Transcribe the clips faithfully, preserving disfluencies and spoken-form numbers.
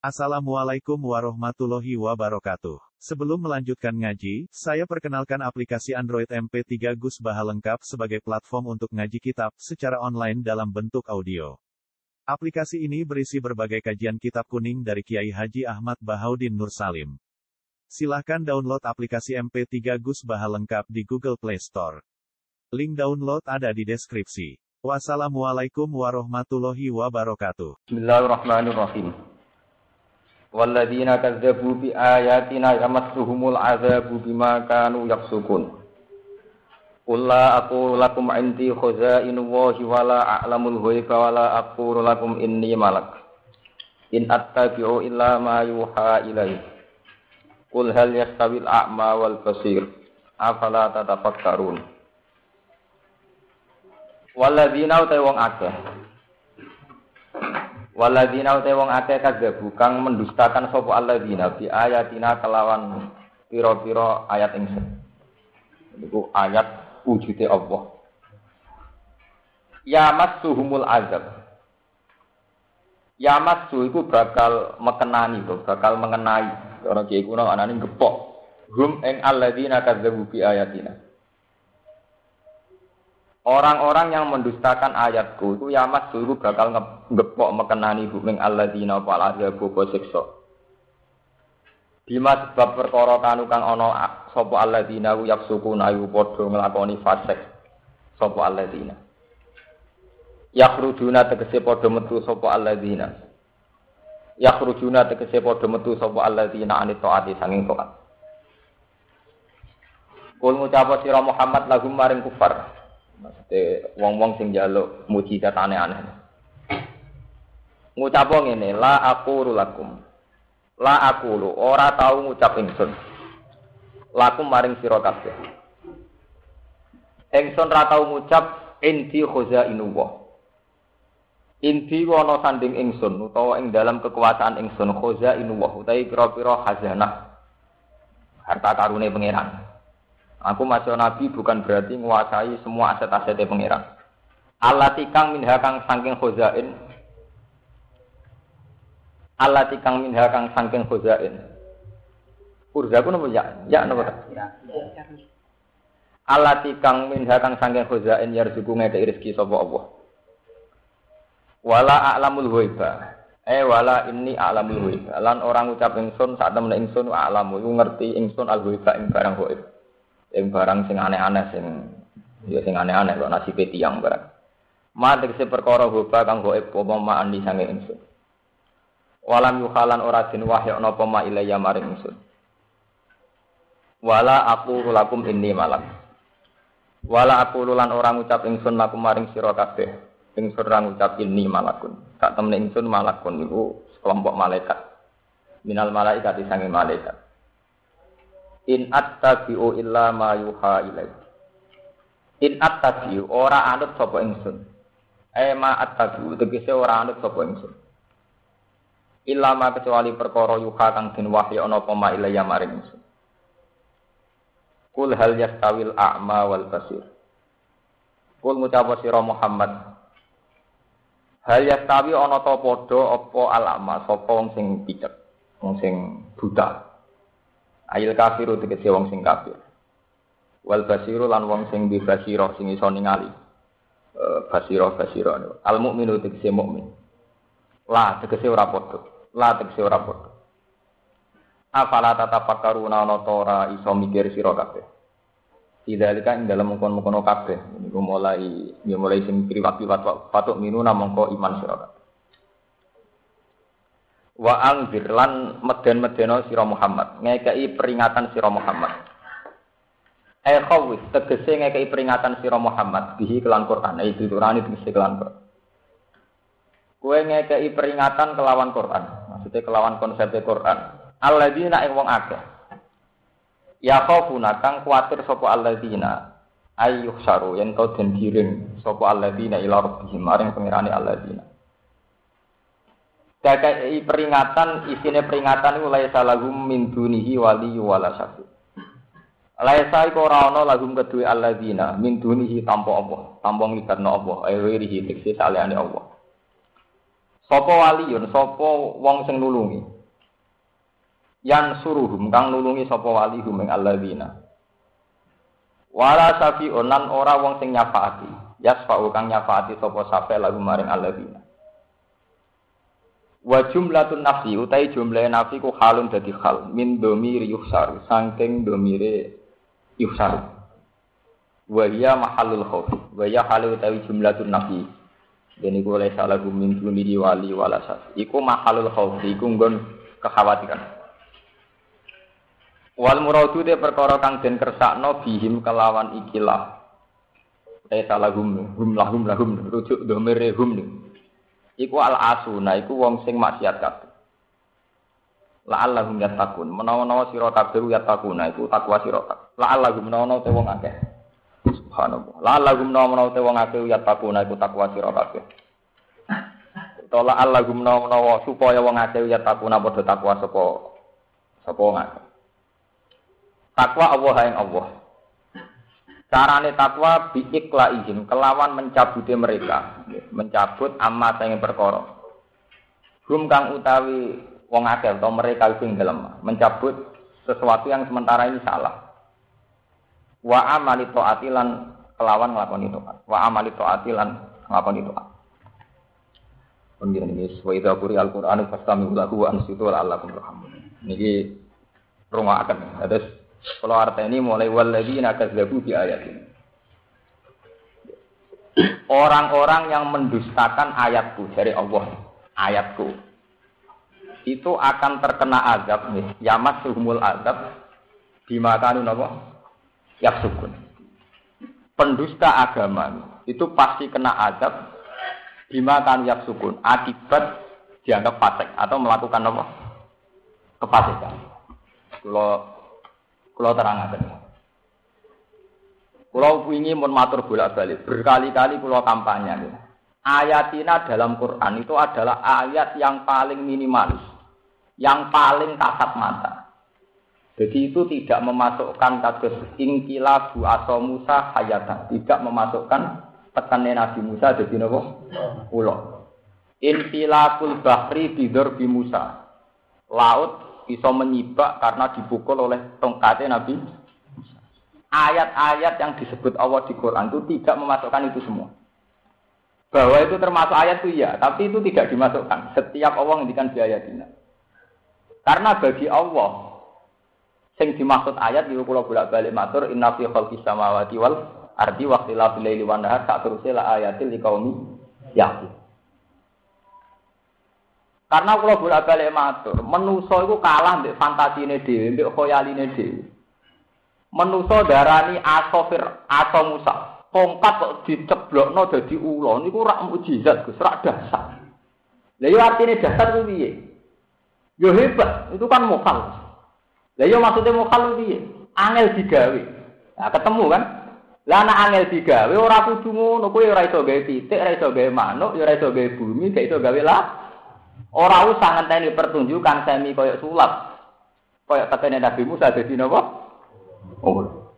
Assalamualaikum warahmatullahi wabarakatuh. Sebelum melanjutkan ngaji, saya perkenalkan aplikasi Android M P tiga Gus Baha lengkap sebagai platform untuk ngaji kitab secara online dalam bentuk audio. Aplikasi ini berisi berbagai kajian kitab kuning dari Kiai Haji Ahmad Bahaudin Nur Salim. Silahkan download aplikasi M P tiga Gus Baha lengkap di Google Play Store. Link download ada di deskripsi. Wassalamualaikum warahmatullahi wabarakatuh. Bismillahirrahmanirrahim. Walladzina kazzabu bi ayatina yamassuhumul adzabu bima kanu yafsukun. Qul la aqulu lakum 'indi khazainullahi wa la a'lamul ghaiba wa la aqulu lakum inni malak. In attabi'u illa ma yuha ilayya. Qul hal yastawil a'ma wal basir. Afala tatafakkarun. Walladzina uta wong akeh. Walladzina uta wong akeh kadzabu kang mendustakan sapa alladzina bi ayatina kelawan pira-pira ayat ingsun. Iku ayat wujude Allah. Ya massuhumul azab. Ya massu iku bakal mekenani to, bakal mengenai. Ora kiye kuno anane gepok. Hum ing alladzina kadzabu bi ayatina. Orang-orang yang mendustakan ayatku itu yamas dulu bakal ngepok mekenani buming alladzina wal adzabu siksa. Bima sebab perkara kanu kang ana sapa alladzina yafsukuna ayu padha nglakoni fasik sapa alladzina. Yakhrujuna tegese padha metu sapa alladzina. Yakhrujuna tegese padha metu sapa alladzina anit taati sanging taat. Kul ngucap sira Muhammad lahum maring kufar. Maksudnya wong-wong sing njaluk mujizat aneh-aneh. Ngucap ngene, la aqulu lakum. La aqulu ora tau ngucap ingsun. Lakum maring sira kabeh. Ingsun ra tau ngucap indi khazainullah. Indi ana sanding ingsun utawa ing dalam kekuasaan ingsun khazainullah utawi pira-pira khazanah harta karune pangeran. Aku masuk nabi bukan berarti menguasai semua aset-asetnya pangeran. Allati kang minha kang saking khazain. Allati kang minha kang saking khazain. Urzaku napa ya? Ya napa? Allati kang minha kang saking khazain yarzuku ngekeki rezeki sapa Allah. Wala a'lamul ghaiba. Eh wala inni a'lamul ghaiba. Lan orang ngucap ingsun sak temene ingsun a'lamu iku ngerti ingsun al-ghaiba ing barang ghaib. Yang barang sing aneh-aneh sing ya sing aneh-aneh kok nasibe tiyang barang. Matek se perkara hoba kang gaib apa maan di sange ingsun. Walam yukhalan ora den wahya napa ma ilaya maring ingsun. Wala aqulu lakum inni malak. Wala aqulu lan ora ngucap ingsun lakum maring sira kabeh. Ingsun ora ngucap inni malakun. Sak temene ingsun malakun niku kelompok malaikat. Minal malaikat di sange malaikat. In attabi'u illa ma yuha ilai. In attabi'u ora anut sapa ingsun. Eh ma attabi'u tegese ora anut sapa ingsun. Illa ma kecuali perkara yuha kang den wahya ana apa ma ilaya maring ingsun. Kul hal yastawil a'ma wal basir. Kul ngucap sira Muhammad. Hal yastawi ana ta padha apa al-a'ma sapa wong sing picek, wong sing buta. Ayil kafiru tegese wong sing kafir. Wal basiru lan wong sing bi basira sing iso ningali. Eh basira basira. Al mukminu tegese mukmin. La tegese ora padha. La tegese ora padha. Afala tatafakkaruna ana ta ora iso mikir sira kabeh. Idalika ing dalem mungkon-mungkon kabeh. Niku mulai ya mulai sing priwat-priwat patuk minuna mongko iman sira kabeh. Wa anzir lan meden-medeno sira Muhammad ngekeki peringatan sira Muhammad. Eh khawis tegese ngekeki peringatan sira Muhammad bihi kelan Quran itu turane tegese kelan Quran. Kowe ngekeki peringatan kelawan Quran, maksudnya kelawan konsep Quran. Alladzina ing wong akeh. Ya khafuna kang kuwatir sapa alladzina ayyuh saru yen to den giring sapa alladzina ila rabbihim maring pangerane alladzina. Kakai peringatan, isine peringatan iku laisa lahum min dunihi wali wala syafi. Laisa iku ora ana lahum kedue alladzina min dunihi tanpa Allah, tanpa nglibatno Allah, airihi tekse salehane Allah. Sapa waliyun, sapa wong sing nulungi. Yan suruhum kang nulungi sapa wali hum ing alladzina. Wala safi'un lan ora wong sing nyafaati. Yasfa'u kang nyafaati sapa safe lagu maring alladzina. Wa jumlatun nafsi utai jumlah nafsi ku halun dadi hal min dhamiri yuhsar saking dhamire yuhsar. Wa hiya mahallul khauf. Wa ya halu utai jumlatun nafsi. Dene iku oleh salah gumin duni wali wala saf. Iku mahallul khauf iku nggon kekhawatiran. Wal muradu te perkara kang den kersakno bihim kelawan ikilah. Eh salah gum, gum lahum lahum rujuk dhamire hum. Iku al asuna iku wong sing maksiat kabeh. La'allahum yattaqun. Menawa-nawa sira kabeh yattaquna iku takwa sira kabeh. La'allahum menawa-nawa te wong akeh. Subhanallah. La'allahum menawa-nawa te wong akeh yattaquna iku takwa sira kabeh. Utawa la'allahum menawa-nawa supaya wong akeh yattaquna padha takwa sapa sapa wong akeh. Takwa Allah yang Allah. Carane takwa biiklaihim kelawan mencabute mereka, mencabut amma sing perkara. Hum kang utawi wong akeh atau mereka sing dalem, mencabut sesuatu yang sementara ini salah. Wa amali taatilan kelawan nglakoni taat. Wa amali taatilan nglakoni taat. Pengiran ini sesuai Al-Qur'an Al-Qur'an fastami'u lahu wa ansitu la'allakum turhamun. Niki rungokaken. Terus kalau artinya mulai walladzina kazzabu bi ayatin. Orang-orang yang mendustakan ayatku dari Allah, ayatku itu akan terkena azab nih. Yamat suhumul azab dimakanu napa? Yaksukun. Pendusta agama itu pasti kena azab dimakanu yaksukun akibat dianggap fasik atau melakukan apa? Kefasikan. Kalau Kulo terangaken. Kulo wingi mun matur bolak-balik, berkali-kali kulo kampanye. Ayatina dalam Quran itu adalah ayat yang paling minimalis, yang paling kasat mata. Jadi itu tidak memasukkan kados ingkilabu aso Musa hayatan, tidak memasukkan tekane Nabi Musa dadi napa? Ulo. Infilakul bahri bidur bi Musa. Laut bisa menyibak karena dipukul oleh tongkatnya Nabi. Ayat-ayat yang disebut Allah di Quran itu tidak memasukkan itu semua. Bahwa itu termasuk ayat itu ya, tapi itu tidak dimasukkan. Setiap Allah ngendikan di ayatina. Karena bagi Allah, yang dimaksud ayat itu kula bolak-balik matur inna fi khalqis samawati wal ardi wa ikhtilafil laili wan nahar sa'turusila ayatil liqaumi yaqilun. Karena kalau bolak-balik matur, manusa iku kalah mbek fantasine dhewe, mbek khoyaline dhewe. Manusa darani asofir aso Musa, tongkat kok diceblokno dadi ula niku rak mukjizat, Gus, rak dasar. Lah yo artine dasar ku piye? Yo hebat, itu kan mokal. Lah yo maksude mokal ku piye? Angel digawe. Nah, ketemu kan? Lah ana angel digawe ora kudu ngono, kowe ora iso gawe pitik, ora iso gawe manuk, yo ora iso gawe bumi, gak iso gawe lah. Ora usah ngenteni pertunjukan semi koyok sulap. Koyok tekene Nabi Musa dadi napa? Oh.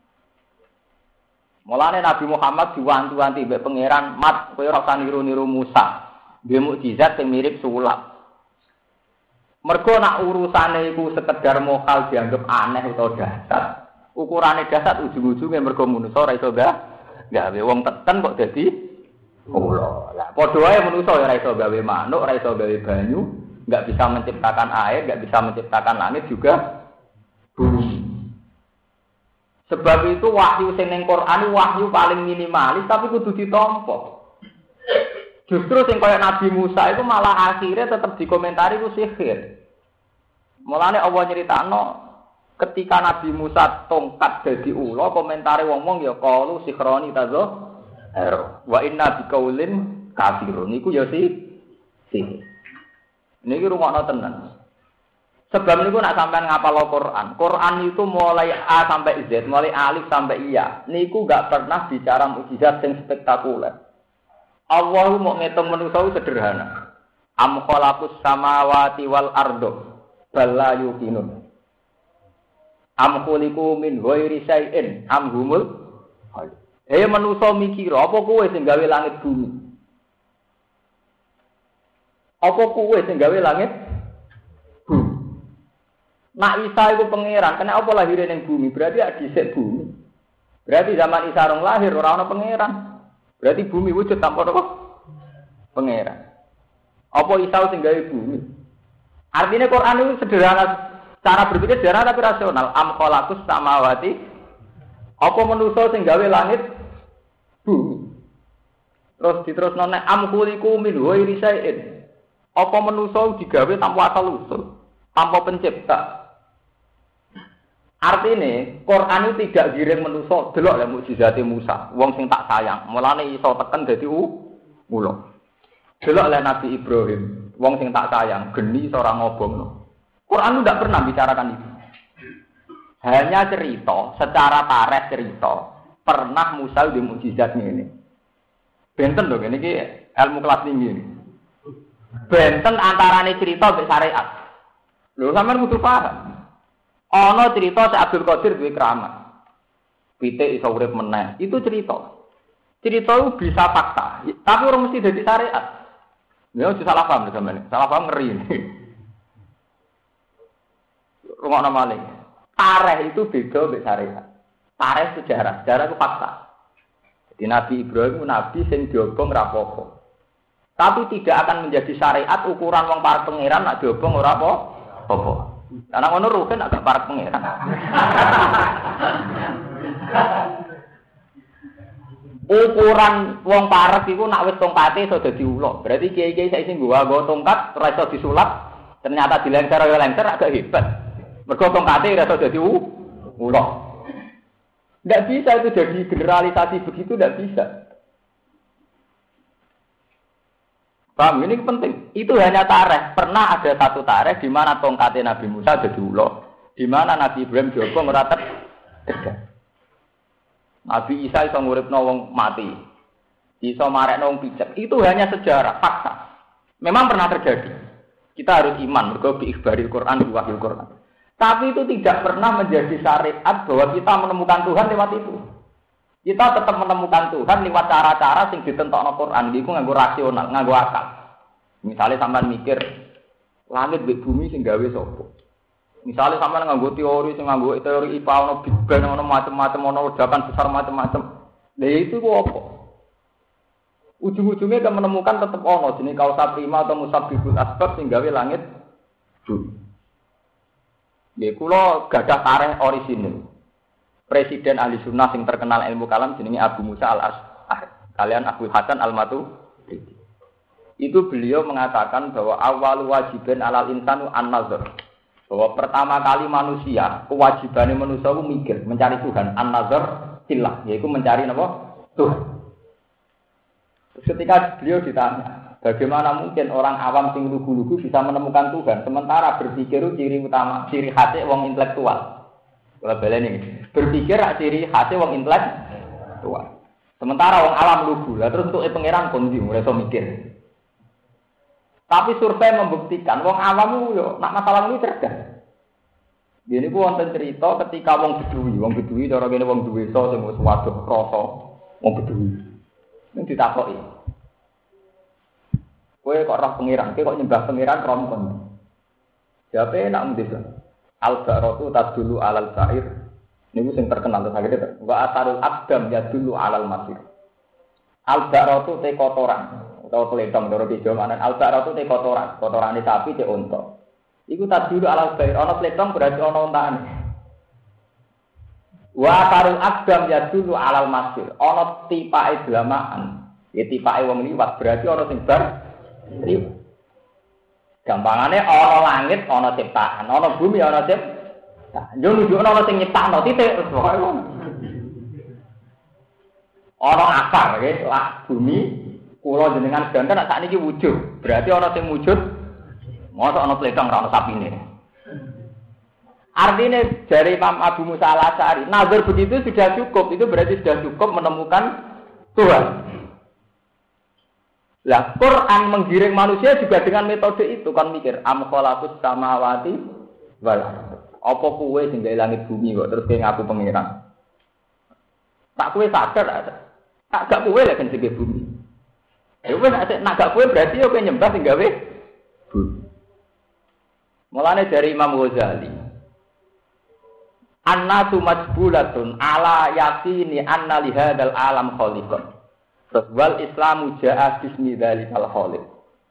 Mulane Nabi Muhammad diwanti-wanti mbek pangeran, "Mat, kowe ora usah niru-niru Musa. Duwe mukjizat sing mirip sulap." Mergo nak urusane iku sekedar mokal dianggap aneh utawa dasar. Ukurane dasar ujung-ujunge mergo manusa ora iso gawe wong teken kok dadi ulo. Lah padha wae manusa ora iso gawe manuk, ora iso gawe banyu, enggak bisa menciptakan air, enggak bisa menciptakan langit juga bumi. Sebab itu wahyu sing ning Quran wahyu paling minimalis tapi kudu ditampa. Justru sing kaya Nabi Musa itu malah akhirnya tetap dikomentari ku sihir. Mulane Allah nyeritakno ketika Nabi Musa tongkat dadi ula, komentare wong-wong ya qalu sihroni tazo wa inna biqaulin kafirun niku ya si sihir. Niki rungokno tenan. Sebab niku nak sampean ngapal Al-Qur'an. Quran itu mulai A sampai Z, mulai alif sampai iya. Niku enggak pernah bicara mukjizat yang spektakuler. Allah mau ngitung manusia sederhana. Am khalaqus samawati wal ardo bal la yuqinun. Am khuliqu min ghairi syai'in am humul khaliq. Eh manusia mikir, apa kowe sing gawe langit bumi? Apa kowe sing gawe langit bumi? Nak Isa iku pangeran, kena apa lahir ning bumi? Berarti ada dhisik bumi. Berarti zaman Isa rong lahir ora ana pangeran. Berarti bumi wujud tanpa apa? Pangeran. Apa Isa sing gawe bumi? Artinya Quran itu sederhana, cara berpikir sederhana tapi rasional. Am khalaqus samawati. Apa manusa sing gawe langit bumi? Terus diterusno nek am khuliqu min ghairi syai'in. Apa manusa digawe tanpa asal usul, tanpa pencipta? Artine Quran itu tidak giring manusa, delok lek mukjizate Musa, wong sing tak sayang. Mulane iso teken dadi ula. Delok lek Nabi Ibrahim, wong sing tak sayang, geni iso ora ngobongno. Quran itu tidak pernah bicarakan itu. Hanya cerita, secara tarikh cerita, pernah Musa di mukjizat ini. Benten lho, ini ilmu kelas tinggi ini. Benten antarane cerita mbek syariat. Lho sampean kudu paham. Ana cerita Syekh Abdul Qadir duwe keramat. Pitik iso urip meneh. Itu cerita. Cerita itu bisa fakta, tapi ora mesti dadi syariat. Ya ojo salah paham sampean. Salah paham ngeri ini. Rungokno malih. Tarikh itu beda mbek syariat. Tarikh sejarah, sejarah itu fakta. Jadi Nabi Ibrahim itu nabi sing diobong ra apa-apa. Tapi tidak akan menjadi syariat ukuran wong para pangeran nak diobong ora apa-apa. Karena ngono rugen agak para pangeran. Ukuran wong parek iku nak wis tongkate iso dadi ula. Berarti kiai-kiai saiki sing nggawa tongkat ora iso disulap, ternyata dilengser ya lengser agak hebat. Mergo tongkate ora iso dadi ula. Enggak bisa itu jadi generalisasi begitu, enggak bisa. Paham, ini penting. Itu hanya tarikh. Pernah ada satu tarikh di mana tongkatnya Nabi Musa jadi ulo, di mana Nabi Ibrahim diobong ora tegak. Nabi Isa iso nguripno wong mati, iso marekno wong pijak. Itu hanya sejarah, fakta. Memang pernah terjadi. Kita harus iman mergo bi ikhbaril Quran, bi wahyul Quran. Tapi itu tidak pernah menjadi syariat bahwa kita menemukan Tuhan lewat itu. Kita tetap menemukan Tuhan lewat cara-cara sing ditentokno Quran, iku nganggo rasional, nganggo akal. Misalnya sampean mikir langit mbek bumi sing gawe sapa? Misalnya sampean nganggo teori sing nganggo teori I P A ono Big Bang ono macam-macam ono ledakan besar macam-macam. Lha itu ku apa? Ujung-ujungnya kita menemukan tetap ono jenenge kausa prima atau musabbibul asbab sing gawe langit bumi. Nggih kula gadah tarikh orisinil. Presiden ahli sunnah yang terkenal ilmu kalam jenenge Abu Musa al-Ash'ari. Kalian Abu Hasan al-Maturidi. Itu beliau mengatakan bahwa awal wajibin alal insanu an-nazar. Bahwa pertama kali manusia, kewajibannya manusia itu mikir, mencari Tuhan. An-nazar fillah, yaitu mencari apa? Tuhan. Ketika beliau ditanya, bagaimana mungkin orang awam sing lugu-lugu bisa menemukan Tuhan, sementara berpikir ciri utama, ciri khasnya wong intelektual. Kalau belen ini berpikir ciri khasnya wong intelektual. Sementara wong alam lugu, lah terus untuk pangeran kondi mulai so mikir. Tapi survei membuktikan wong awam yo nak masalah ini cerdas. Gini ku wonten cerita ketika wong bedui, wong bedui cara kene wong duwe so sing wis waduh krasa wong bedui. Ning ditakoki. Kowe kok roh pangeran, kowe kok nyembah pangeran rompon. Jawabe nak mendesa. Al-Ba'ratu tadullu alal sa'ir. Niku sing terkenal terus akhirnya. Wa atarul abdam yadullu alal masir. Al-Ba'ratu te kotoran atau telentong doro di Jawa. Al-Ba'ratu te kotoran, kotorane sapi te unta. Iku tadullu alal sa'ir. Ana telentong berarti ana untane. Wa atarul abdam yadullu alal masir. Ana tipake dlamaan. Ya tipake wong liwat berarti ana sing bar liwat. Gampangane ana langit, ana ciptaan, ana bumi, ana ciptaan. Yo nunjukno ana sing nyiptakno titik terus pokoke ngono. Ana akar nggih, lah bumi kula jenengan sedanten nek sakniki wujud. Berarti ana sing wujud. Mosok ana pletong ora ana sapine. Artinya dari Imam Abu Musa al-Ash'ari, nazar begitu sudah cukup, itu berarti sudah cukup menemukan Tuhan. Lah Quran menggiring manusia juga dengan metode itu kan mikir am khalaqus samawati wal apa kowe sing gawe langit bumi kok terus kowe ngaku pangeran. Tak kowe sadar tak gak kowe lek sing gawe bumi. Ya wis nek gak kowe berarti kowe nyembah sing gawe bumi. Mulane dari Imam Ghazali Annasu majbulatun ala yaqini anna li hadzal alam khaliqan. Terus wal Islamu ja'a bismi dzalikal khaliq.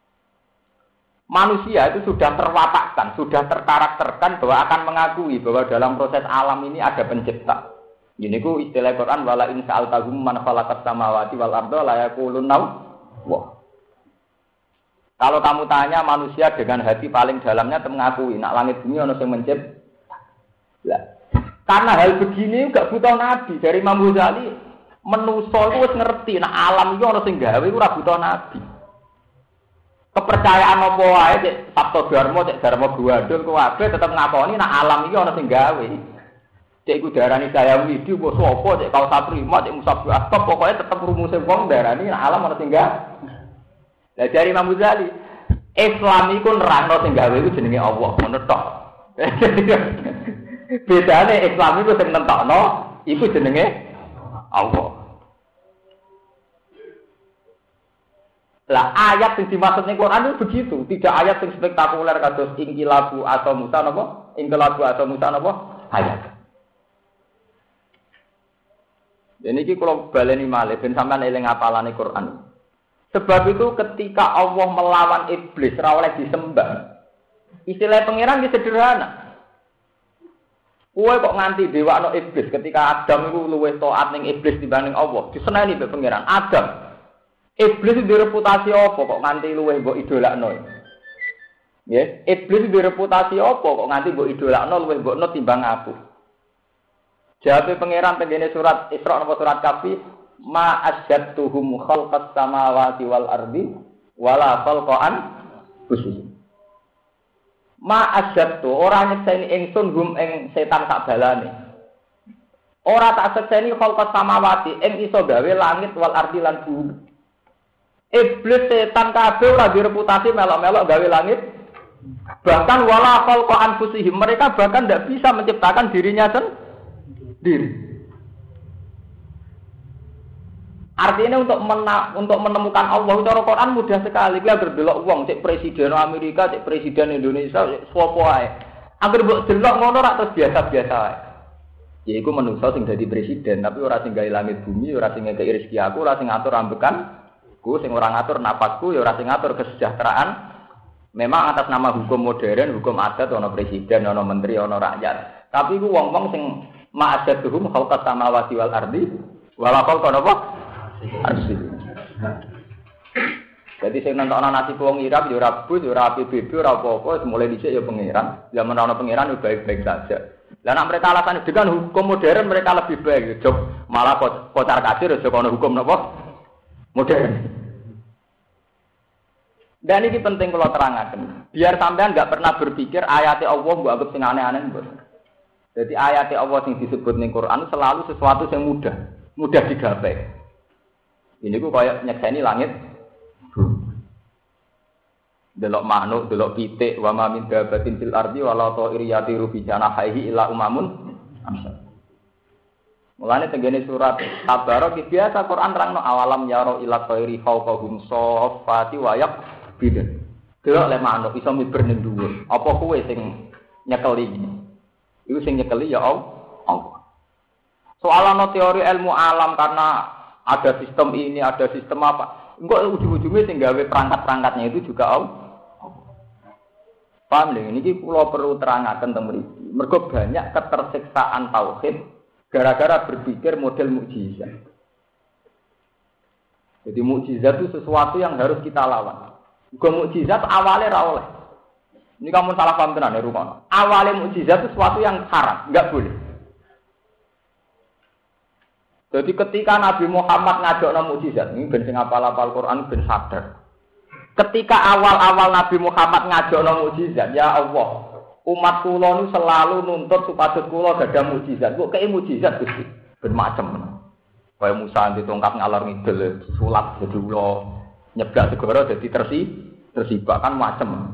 Manusia itu sudah terwatakkan, sudah terkarakterkan bahwa akan mengakui bahwa dalam proses alam ini ada pencipta. Ini ku istilah Quran wala in sa'altahum man khalaqas samawati wal arda la yaqulunna wah. Kalau kamu tanya manusia dengan hati paling dalamnya mengakui nak langit bumi ono sing mencipta. Lah, karena hal begini enggak butuh nabi. Dari Imam Ghazali manusa itu wis ngerti nak alam iki ono sing gawe ora butuh nabi. Kepercayaan apa wae cek Sabto Dharma cek Dharma Guwadul kuwabe tetep ngakoni nak alam iki ono sing gawe. Cek iku darani saya widi apa sapa cek kau satrima cek musabbu asbab pokoke tetep rumuse wong darani nak alam ono sing gawe. Lah dari Imam Ghazali, Islam iku nerangno sing gawe iku jenenge Allah, ngono tok. Bedane Islam iku sing nentokno iku jenenge Allah. Lah ayat yang dimaksud ning Quran itu begitu, tidak ayat yang spektakuler kados ingkilabu atau musa napa? Ingkilabu atau musa napa? Ayat. Jadi iki kula baleni malih ben sampean eling apalane Quran. Sebab itu ketika Allah melawan iblis ora oleh disembah. Istilah pangeran iki sederhana. Kowe kok nganti dewakno iblis ketika Adam iku luwih taat ning iblis dibanding Allah. Diseneni mbek pangeran. Adam. Iblis duwe reputasi apa kok nganti luwih mbok idolakno? Nggih, iblis duwe reputasi apa kok nganti mbok idolakno luwih mbokno timbang aku. Jawabe pangeran tengene surat Isra napa surat Kahfi ma asyadtuhum khalqas samawati wal ardi wala khalqan khusus. Ma asyadtu ora nyekseni ingsun hum ing setan sak balane. Ora tak sekseni khalqas samawati ing iso gawe langit wal ardi lan bumi. Iblis setan kabeh ora direputasi melok-melok gawe langit. Bahkan wala khalqan khusus mereka bahkan tidak bisa menciptakan dirinya sendiri. Artinya untuk mena, untuk menemukan Allah cara Quran mudah sekali. Kita berdelok wong cek presiden Amerika, cek presiden Indonesia, cek sapa ae. Angger mbok delok ngono rak terus biasa-biasa ae. Ya iku menungso sing dadi presiden, tapi ora sing gawe langit bumi, ora sing ngekeki rezeki aku, ora sing ngatur ambekan, ku sing ora ngatur napasku, ya ora sing ngatur kesejahteraan. Memang atas nama hukum modern, hukum adat ana presiden, ana menteri, ana rakyat. Tapi iku wong-wong sing ma'adzatuhum khalqas samawati wal ardi wala khalqa apa? Asli. Jadi saya nonton nasi wong Irak, yo ora bus, yo ora P B B, ora apa-apa, mulai dhisik yo pangeran. Zaman ana pangeran yo baik-baik saja. Lah nek mereka alasan dengan hukum modern mereka lebih baik. Jok malah kocar kacir yo ana hukum napa? Modern. Dan ini penting kalau terangkan. Biar sampean enggak pernah berpikir ayat Allah mbok anggap sing aneh-aneh mbok. Jadi ayat Allah yang disebut ning Quran selalu sesuatu yang mudah, mudah digapai. Ini ku kayak nyekseni langit. Delok manuk, delok pitik, wa ma min dabatin fil ardi wala ta'ir yatiru bi janahihi illa umamun amsal. Mulane tengene surat Tabarok biasa Quran terangno awalam yaro ila ta'iri fawqahum saffati wa yaqbidun. Delok le manuk iso miber ning dhuwur. Apa kowe sing nyekeli? Iku sing nyekeli ya Allah. Soalana teori ilmu alam karena ada sistem ini, ada sistem apa. Enggak ujung-ujungnya sing gawe perangkat-perangkatnya itu juga Allah. Paham lho, ini kula perlu terangaken teng mriki. Mergo banyak ketersiksaan tauhid gara-gara berpikir model mukjizat. Jadi mukjizat itu sesuatu yang harus kita lawan. Juga mukjizat awalnya ra oleh. Ini kamu salah paham tenan ya rukono. Awalnya mukjizat itu sesuatu yang haram, enggak boleh. Jadi ketika Nabi Muhammad ngadokno mukjizat, ini ben sing apal-apal Quran ben sadar. Ketika awal-awal Nabi Muhammad ngadokno mukjizat, ya Allah, umat kula nu selalu nuntut supados kula gadah mukjizat. Kok kei mukjizat Gusti? Ben macem. Kaya Musa ditongkat ngalor ngidul, sulap jadi ula, nyeblak segara jadi tersi, tersibak kan macem.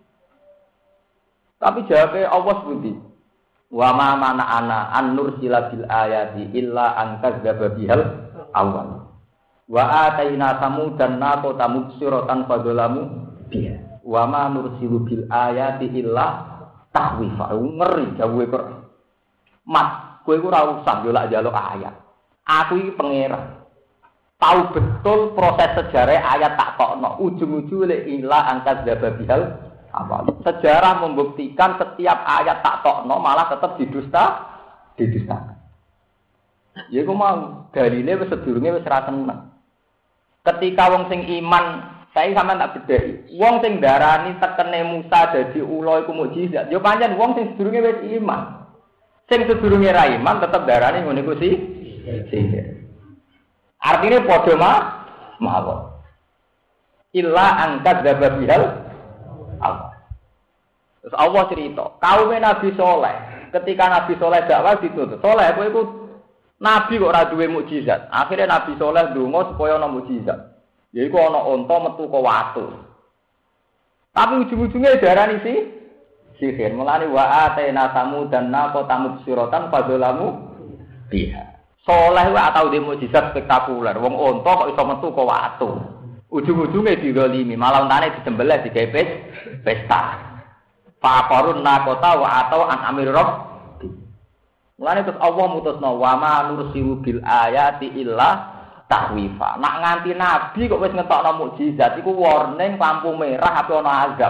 Tapi jawabnya Allah seperti wa ma mana ana an nursila bil ayati illa an kadzdzaba bihal awal wa ataina samudan naqata mubsiratan fadzalamu biha wa ma nursilu bil ayati illa tahwifa ngeri jawab Quran Mat, kowe iku ora usah njaluk-njaluk ayat. Aku iki pangeran. Tahu betul proses sejarah ayat tak tokno. Ujung-ujung lek ila angkat zababihal awal. Sejarah membuktikan setiap ayat tak tokno malah tetap didusta, didustakan. Ya iku mau dalile wis sedurunge wis ra tenang. Ketika wong sing iman, saya sampean tak bedheki. Wong sing darani tekene Musa dadi ula iku mukjizat. Ya pancen wong sing sedurunge wis iman. Sing sedurunge ra iman tetep darani ngono iku sih. Sihir. Artinya padha mah mawon. Illa angkat zababihal Allah. Terus Allah cerita, kaum Nabi Soleh, ketika Nabi Soleh dakwah dituntut, Soleh kowe iku nabi kok ora duwe mukjizat. Akhirnya Nabi Soleh ndonga supaya ana mukjizat. Yaiku ana unta metu ke watu. Tapi ujung-ujungnya darani sih sihir. Mulane wa atena tamu dan napa tamu siratan fadzalamu biha. Soleh wae tau dhe mukjizat spektakuler. Wong unta kok iso metu ke watu. Ujung-ujunge didolimi, malah untane disembelih digawe pesta. Faqarun naqata wa atau an amir rabb. Mulane terus Allah mutusno wa ma nursilu bil ayati illa tahwifa. Nak nganti nabi kok wis ngetokno mukjizat iku warning lampu merah apa ana azab.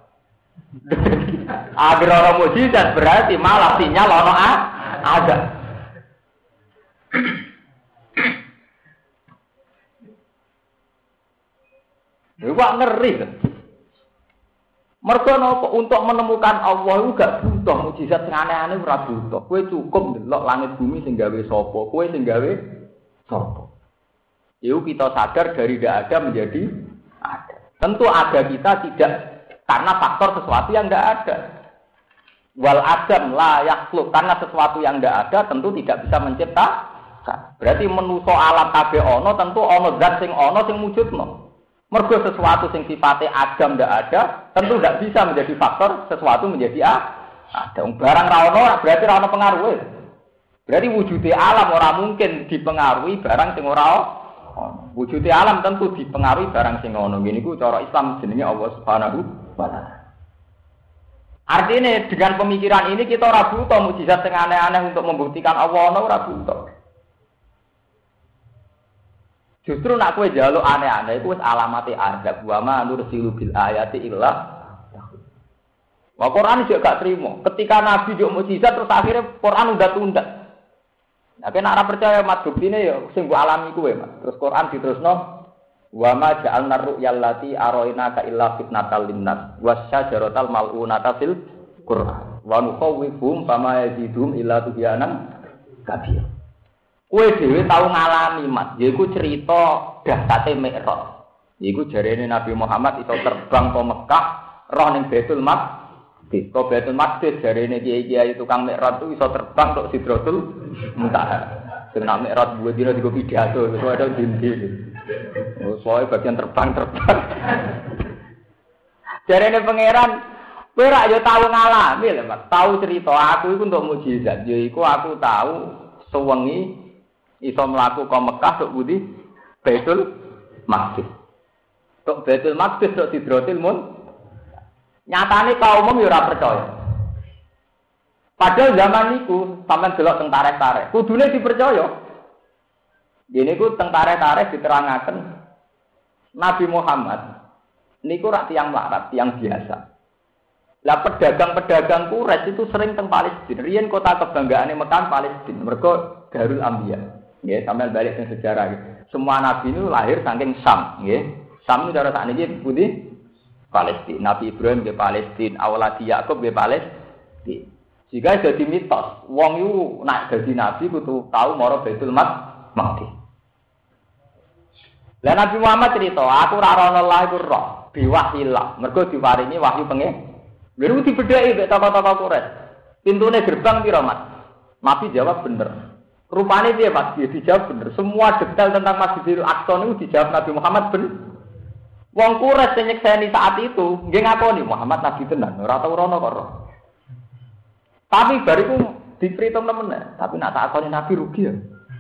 Agar ana mukjizat berarti malah sinyal ana azab. Wah ngeri kan. Mergo napa untuk menemukan Allah iku gak butuh mukjizat sing aneh-aneh ora butuh. Kowe cukup ndelok langit bumi sing gawe sapa, kowe sing gawe sapa. Iku kita sadar dari tidak ada menjadi ada. Tentu ada kita tidak karena faktor sesuatu yang tidak ada. Wal adam la yakhluq, karena sesuatu yang tidak ada tentu tidak bisa menciptakan. Berarti menuso alam kabeh ana tentu ana zat sing ana sing wujudno. Mergo sesuatu sing sifatnya adam ndak ada, tentu ndak bisa menjadi faktor sesuatu menjadi a. Ada barang ra ono berarti ra ono pengaruhe. Berarti wujudnya alam ora mungkin dipengaruhi barang sing ora ono. Wujudnya alam tentu dipengaruhi barang sing ono. Ngene iku cara Islam jenenge Allah Subhanahu wa taala. Artinya dengan pemikiran ini kita ora butuh mukjizat sing aneh-aneh untuk membuktikan Allah ono ora butuh. Justru nak kowe njaluk aneh-aneh iku wis alamate azab wa ma nursilu bil ayati illa. Wa Quran juga gak terima. Ketika Nabi yo mukjizat terus akhirnya Quran udah tunda. Nah, kena ora percaya mat buktine yo sing mbok alami kuwe, Mas. Terus Quran diterusno wa ma ja'alna ru'yal lati araina ka illa fitnatal linnas wasyajaratal mal'unata fil Quran. Wa nukhawwifum fama yazidum illa tugyanan kabir. Kowe dhewe tau ngalami, Mas. Yaiku cerita dahsate Mi'raj. Yaiku jarene Nabi Muhammad iso terbang ke Mekah, roh ning Baitul Maqdis. Ke Baitul Maqdis jarene kiai-kiai tukang Mi'raj itu iso terbang tok Sidratul Muntaha. Sing nak Mi'raj buat dina digo pidato, iso ada dindi. Oh, soal bagian terbang-terbang. Jarene pangeran, kowe ra yo tau ngalami lho, Mas. Tau cerita aku iku untuk mukjizat. Yaiku aku tahu sewengi iso mlaku ka Mekah tok budi Baitul Maqdis. Tok Baitul Maqdis tok Sidratul Muntaha. Nyatane kaum umum yo ora percaya. Padahal zaman niku sampean delok teng tarikh-tarikh, kudune dipercaya. Dene ku teng tarikh-tarikh diterangaken Nabi Muhammad niku rak tiyang melarat, tiyang biasa. Lah pedagang-pedagang Quraisy itu sering teng Palestina. Riyen kota kebanggaane Mekah Palestina. Mergo Darul Anbiya. Nggih, sampeyan balik ke sejarah gitu. Semua nabi itu lahir saking Sam, nggih. Sam itu cara sakniki putih Palestina. Nabi Ibrahim di Palestina, awaladi Yakub di Palestina. Jika jadi mitos, wong itu nak jadi nabi kudu tahu maro Baitul Maqdis. Lah Nabi Muhammad cerita, aku ora ana Allah iku roh, biwahillah. Mergo diparingi wahyu pengen. Lha dibedheki mek tokoh-tokoh Quraisy. Pintune gerbang piro, Mas? Nabi jawab bener. Rupane dia Mas, dia dijawab bener. Semua detail tentang Masjidil Aqsa niku dijawab Nabi Muhammad bener. Wong Quraisy sing nyekseni saat itu, nggih ngakoni Muhammad nabi tenan, ora tau rono kok. Tapi bariku dipritung temen, tapi nak takoni nabi rugi ya.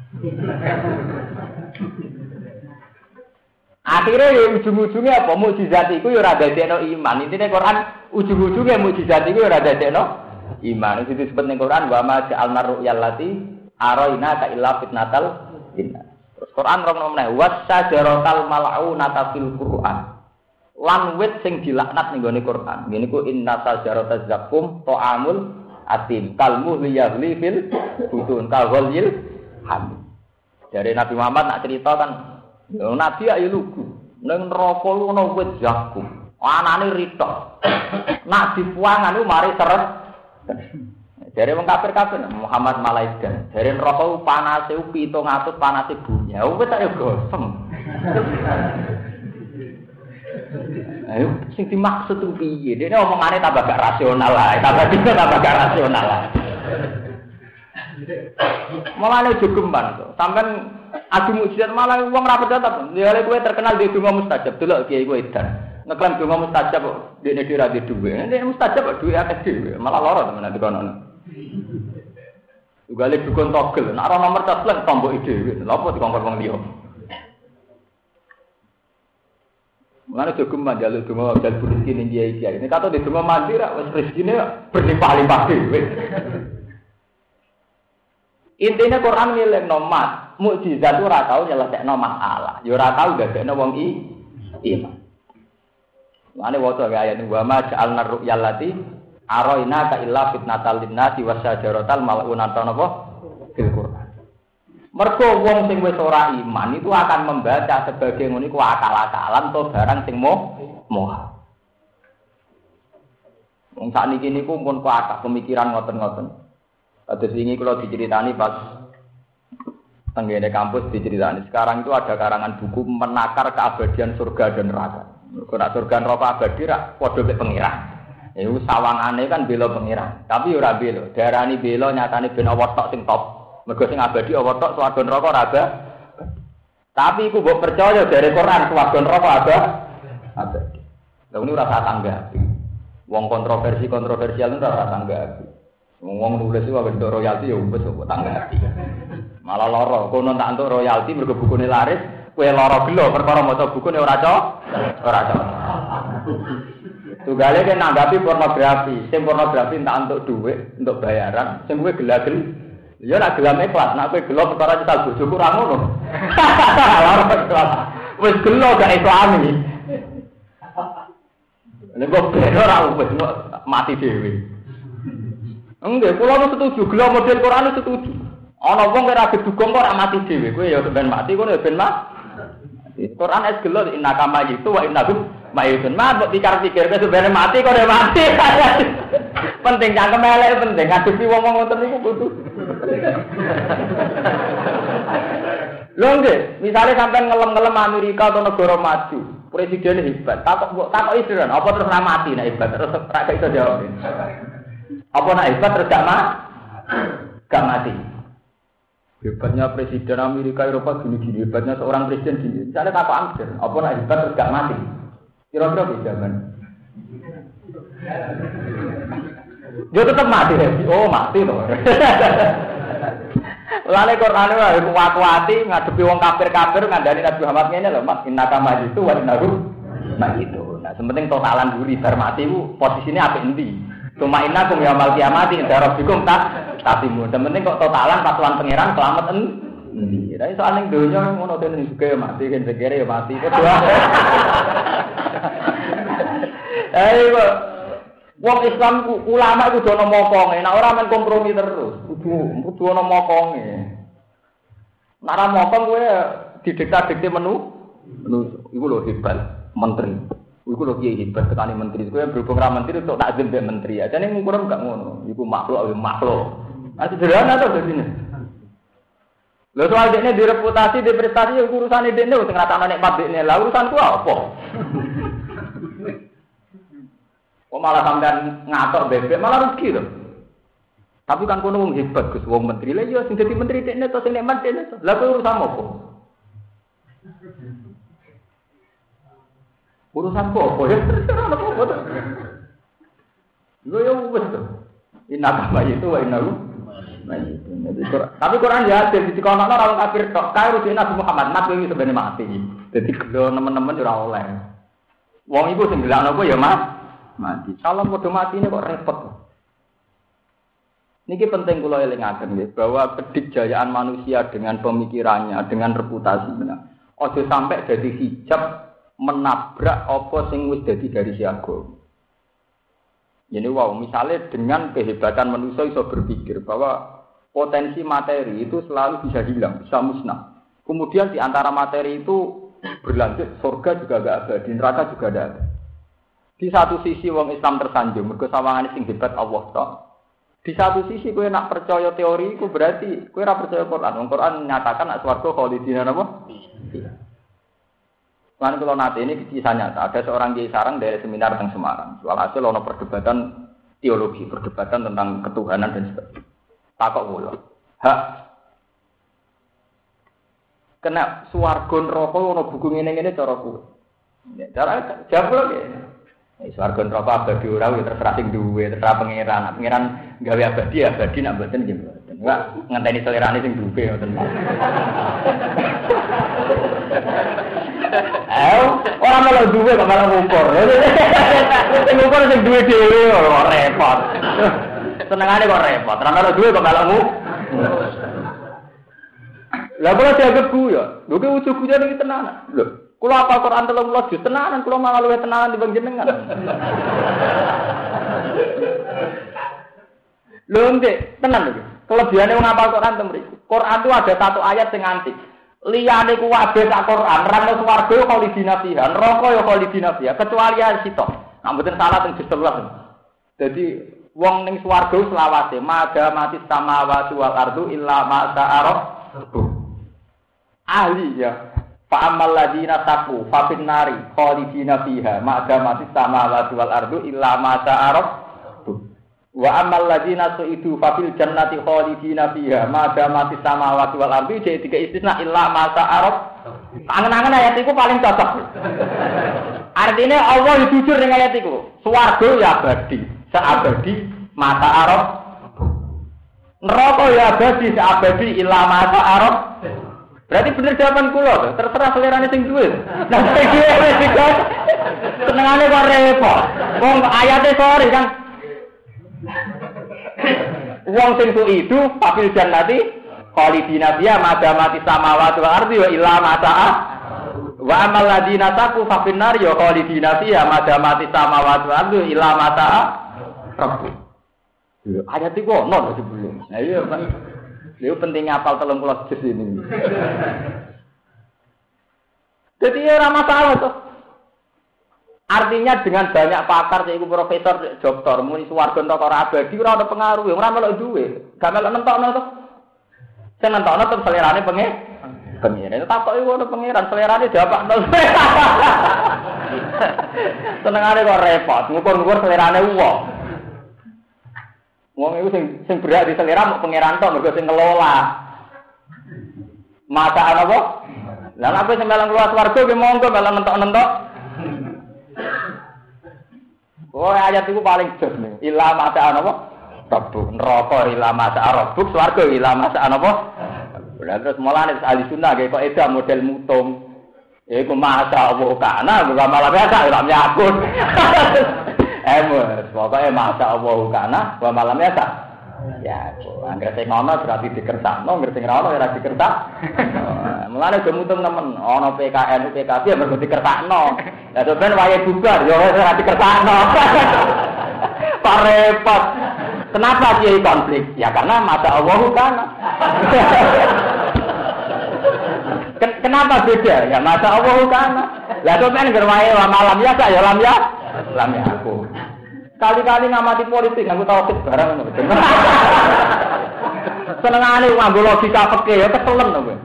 Akhirnya ya ujung-ujungnya apa? Mukjizat iku ya ora dadekno iman. Intine Quran ujung-ujungnya mukjizat iku ya ora dadekno iman. Itu disebut ning Quran wa ma ja'alna ru'yal lati araina ka illa fitnatal linnas. Terus Quran rono meneh wasajaratal mal'unata fil Quran. Lan wit sing dilaknat ning gone Quran. Ngene ku inna sajarataz zakum ta'amul atim kalmu liyahli fil butun kalghalil hamid. Dari Nabi Muhammad nak cerita kan, Nabi ayo lugu. Ning neraka lu ana wit zakum. Anane ritok. Nak dipuangan lu mari seret. Dari wong kafir-kafir Muhammad malaikat. Dari neraka ku panase pitung atus panase bumi. Ya wis tak yo gosem. Ayo sing dimaksud ku piye? Dene omongane tambah gak rasional lah, tambah dina tambah gak rasional lah. Mulane jogeman to. Sampeyan adu mukjizat malah wong ra percaya. Ya kowe terkenal di donga mustajab, delok kiai kowe edan. Ngeklaim donga mustajab kok dene dhewe ra duwe. Nek mustajab kok duwe akeh dhewe, malah lara temen nek kono. Tugale dukun togel, nek ora nomor telepon tomboki dhewe. Lha apa dikongkon wong liya? Mulane jogeman jaluk donga dal rezeki ning kiai-kiai. Nek kato di donga mandi ra wis rezekine berlimpah-limpah dhewe. Intinya Quran ngiling nomat, mukjizat ora tau nyelesekno masalah, ya ora tau dadekno wong i iman. Mane waca ayat wa ma ja'alna ru'yal lati araina ka illa fitnatal linnasi wasajaratal mal'unata napa fil Quran. Mergo wong sing wis ora iman itu akan membaca sebagai ngono iku akal-akalan to barang sing moh moh. Wong sakniki niku pun kuat pemikiran ngoten-ngoten. Kados wingi kula diceritani pas tenggene kampus diceritani. Sekarang itu ada karangan buku menakar keabadian surga dan neraka. Ora surga neraka abadi ra padha mek pengiran. Iku sawangane kan bela pengiran, tapi ora bela. Darani bela nyatane ben awak tok sing top. Mergo sing abadi awak tok swarga neraka ora ada. Tapi iku mbok percaya dari Quran swarga neraka ada. Abadi. Lha ini ora tanggapi. Wong kontroversi-kontroversial ora tanggapi. Wong nulis iku bentuk royalti ya wis kok tanggapi. Malah lara, kono tak entuk royalti mergo bukune laris, kowe lara gelo perkara maca bukune ora cocok, ora cocok. Tugale kan nanggapi pornografi, sing pornografi tak entuk dhuwit, entuk bayaran, sing kowe gelagel. Ya nek gelame kelas, nek kowe gelo perkara nyetal bojoku ora ngono. Lara kelas. Wis gelo gak islami. Nek kok ben ora wis mati dhewe. Enggak, kula nu setuju, gelo model Quran setuju. Ana wong ora gedugong kok ora mati dhewe, kowe ya ben mati, kowe ya ben mati. Quran es gelo innaka mayitu wa innahum mayitun. Mak mbok pikir-pikir kowe ben mati kok ora mati. Penting cangkem elek penting ngadepi wong-wong ngoten niku kudu. Lho nggih, misale sampean ngelem-ngelem Amerika atau negara maju, presiden hebat, takok takoki sira, apa terus ora mati nek hebat terus ra iso jawab. Apa nak hebat terus gak mati? Gak mati. Hebatnya presiden Amerika Eropa gini-gini, hebatnya seorang presiden gini. Misalnya apa ambil? Apa nak hebat terus gak mati? Kira-kira bisa kan? Dia tetap mati ya? Oh mati loh. Lalu Quran itu kuat-kuati ngadepi wong kafir-kafir ngandani Nabi Muhammad ngene lho, Mas innaka majitu wa innahu majitu. Nah, sementing totalan guri bar mati ku posisine apik endi? Cuma inna kum yaumil kiamati inda rabbikum tak tatimu. Sementing kok totalan patuhan pangeran selamat endi. Lah soal ning donya ngono ten juga mati kan segere ya mati. Kedua. Ayo wong Islam ulama iku dono mokonge, nek ora men kompromi terus. Kudu kudu ana mokonge. Nek ora mokong kowe didikta-dikte menu, menu iku lho hebat menteri. Iku lho kiai hebat tekani menteri. Kowe berhubung ra menteri untuk takzim mbek menteri. Ajane ngukur gak ngono. Iku makhluk ae makhluk. Ah sederhana to dadine. Lho soal dekne direputasi, di prestasi urusane dekne sing ngratakno nikmat dekne. Lah urusanku apa? Kok malah sampean ngatok bebek malah rugi lho. Tapi kan kono wong hebat Gus, wong menteri. Lah iya sing dadi menteri dekne to sing nikmat dekne to. Lah kowe urusan apa? Urusan kok, ya terserah apa apa. Lho ya wis to. Inna itu wa innahu mayyitun. Tapi Quran ya dadi dikono ora wong kafir tok. Kae rujuk Nabi Muhammad, Nabi iki sebenarnya mati. Dadi lho nemen-nemen ora oleh. Wong iku sing gelakno apa ya, Mas? Mati. Salam padha matine kok repot. Niki penting kula elingaken nggih bahwa kedikjayaan manusia dengan pemikirannya, dengan reputasinya, aja sampai jadi hijab menabrak apa sing wis dadi garis agama. Jadi wow, misalnya dengan kehebatan manusia iso berpikir bahwa potensi materi itu selalu bisa hilang, bisa musnah. Kemudian di antara materi itu berlanjut, surga juga gak ada, di neraka juga ada. Di satu sisi wong Islam tersanjung, mergo sawangane sing hebat Allah tok. Di satu sisi kowe nak percaya teori iku berarti kowe ora percaya Quran. Wong Quran nyatakan nek swarga khalidina napa? Iya. Lan kula nate ini kisah nyata. Ada seorang kiai sarang dari seminar teng Semarang. Walhasil ana perdebatan teologi, perdebatan tentang ketuhanan dan sebagainya. Takok kula. Hak kena swarga neraka ana buku ngene-ngene cara kuwi. Ya, cara jawab lho. Eh swarga neraka abadi ora wis terserah sing duwe, terserah pangeran. Pangeran gawe abadi abadi nak mboten nggih mboten. Enggak ngenteni selerane sing duwe ngoten. Eh, ora malah duwe kok malah ngukur. Sing ngukur sing duwe dhewe kok repot. Senengane kok repot. Ora malah duwe kok malah ngukur. Lah kula dianggap ku ya. Lho ki ujug-ujug iki tenan. Lho kula apa Quran telung puluh juz tenanan, kula malah luwih tenanan dibanding jenengan. Lho ndek, tenan lho. Kelebihane wong apal Quran ten mriki. Quran itu ada satu ayat sing antik. Liyane ku kabeh sak Quran, nerangno swarga yo khalidina fiha, neraka yo khalidina fiha, kecuali ayat sitok. Nek mboten salah teng juz sebelas. Dadi wong ning swarga selawase, maga mati samawati wal ardu illa ma sa'ara. Ahli ya. Fa ammal ladina taqu fa fin nari khalidina fiha ma damati samawati wal ardu illa ma sa'ara. Wa ammal ladina su'idu fa fil jannati khalidina fiha ma damati samawati wal ardu jadi tiga istisna illa ma sa'ara. Angen-angen ayat iku paling cocok. Artinya Allah jujur dengan ayat iku. Swarga ya abadi, seabadi mata Arab. Neraka ya abadi, seabadi illa ma sa'ara. Berarti bener jawaban kula, terserah selerane sing duwe. Nah, sing duwe wis digas. Senengane kok repot. Wong ayate sore kan. Wong sing itu papil jannati khalidina biya madamati samawati wal ardi wa illa ma sa'a. Wa amal ladina taqu fa fin nar ya khalidina biya madamati samawati wal ardi illa ma sa'a. Rabbu. Ayat iku ono lho sebelum. Nah iya Pak. Itu pentingnya apal telung puluh juz ini. Jadi ya ora masalah tuh. Artinya dengan banyak pakar yaiku profesor, doktor, muni swarga neraka ora abadi ora ana pengaruh, ora melok duwe. Gak melok nentokno to. Sing nentokno tetep selerane pengen. Pengen. Takok iku ono pangeran selerane diapakno. Senengane kok repot, ngukur-ngukur selerane wong. Wong iku sing sing berak di selera mau pangeran tok mergo sing ngelola. Mata ana apa? Lah nek sing melang keluar swarga ki monggo melang entok-entok. Oh ayat iku paling jos nih. Ila mata ana apa? Rabbu neraka ila mata rabbu swarga ila mata ana apa? Lah terus mulane ahli sunnah kok edah model mutung. Iku masa Allah kana bukan malah biasa ora nyakut. Emus, pokoknya masa Allah kana, wa malamnya tak. Ya, angger sing ngono berarti dikersakno, angger sing ora ono ora dikersak. Mulane gemutung nemen, ana P K N, P K B ya mergo dikersakno. Lah sampeyan wayahe bubar ya ora dikersakno. Pak repot. Kenapa dia konflik? Ya karena masa Allah kana. Kenapa beda? Ya masa Allah kana. Lah sampeyan angger wayahe wa malamnya tak ya lam ya. Lami aku. Kali-kali ngamati politik, aku tahu fit barang ngono. Senengane nganggo logika fikih ya keselen kowe.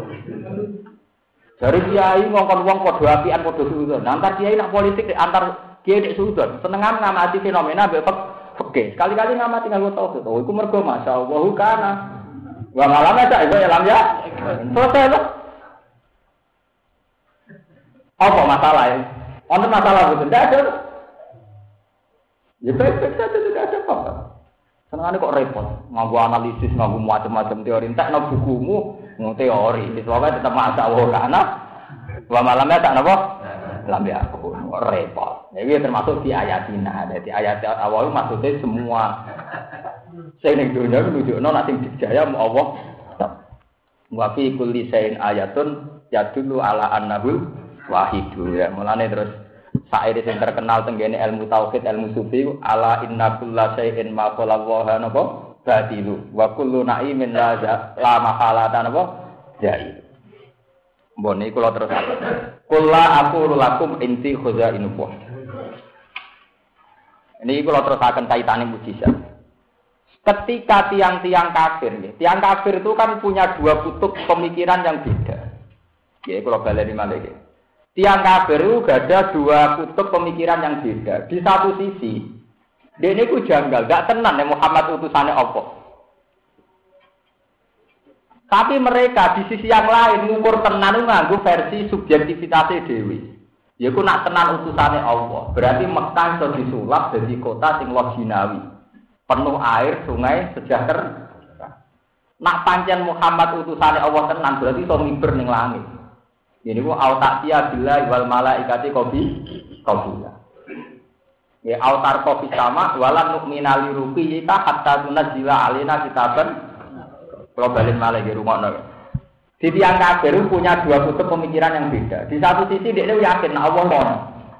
Dari kiai ngongkon wong padha apian padha suudon. Antar kiai nak politik antar kiai nek suudon. Senengan ngamati fenomena mbek fikih. Kali-kali ngamati nganggo tauhid. Oh iku mergo masyaallah kana. Wa malame sak iku lam ya. Selesai lho. Apa masalahnya? Ono masalah betul, tidak ada. Ya baik-baik saja, tidak ada apa-apa. Senangnya kok repot, nganggu analisis, nganggu macam-macam teori. Entah no bukumu, nganggu teori. Soalnya tetap masa Allah kana. Wa malamnya tak apa? Lambi aku, repot. Jadi termasuk di ayatina. Jadi ayat awal maksudnya semua Sing ning dunya nunjukno nek sing dijaya mu Allah. Wa fi kulli shay'in ayatun yadullu ala annahul wahidu ya. Mulane terus saire sing terkenal tenggene ilmu tauhid, ilmu sufi ala inna kulla shay'in ma qala wa napa batilu wa kullu na'imin la la mahalatan napa jai. Mbon iki kula terus kula aku lakum inti khuzainullah. Ini kula terusaken kaitane mujizat. Ketika tiang-tiang kafir, ya, tiang kafir itu kan punya dua kutub pemikiran yang beda. Ya, kula baleni malih. Tiang kafir itu ada dua kutub pemikiran yang beda. Di satu sisi, dia ini ku janggal, gak tenan ya Muhammad utusannya Allah. Tapi mereka di sisi yang lain ngukur tenan nganggo versi subjektivitasnya dewi. Yaiku nak tenan utusane Allah. Berarti Mekah iso disulap dadi kota sing loginawi. Penuh air, sungai, sejahtera. Nak pancen Muhammad utusane Allah tenan berarti iso miber ning langit. Ini ku autatia billahi wal malaikati qabi qabula. Ya autar qabi sama walan nu'mina li ruqiyika hatta tunzila alaina kitaban. Kalau balik malah di rumah nol. Di tiang kafir punya dua kutub pemikiran yang beda. Di satu sisi dia yakin nah Allah mau.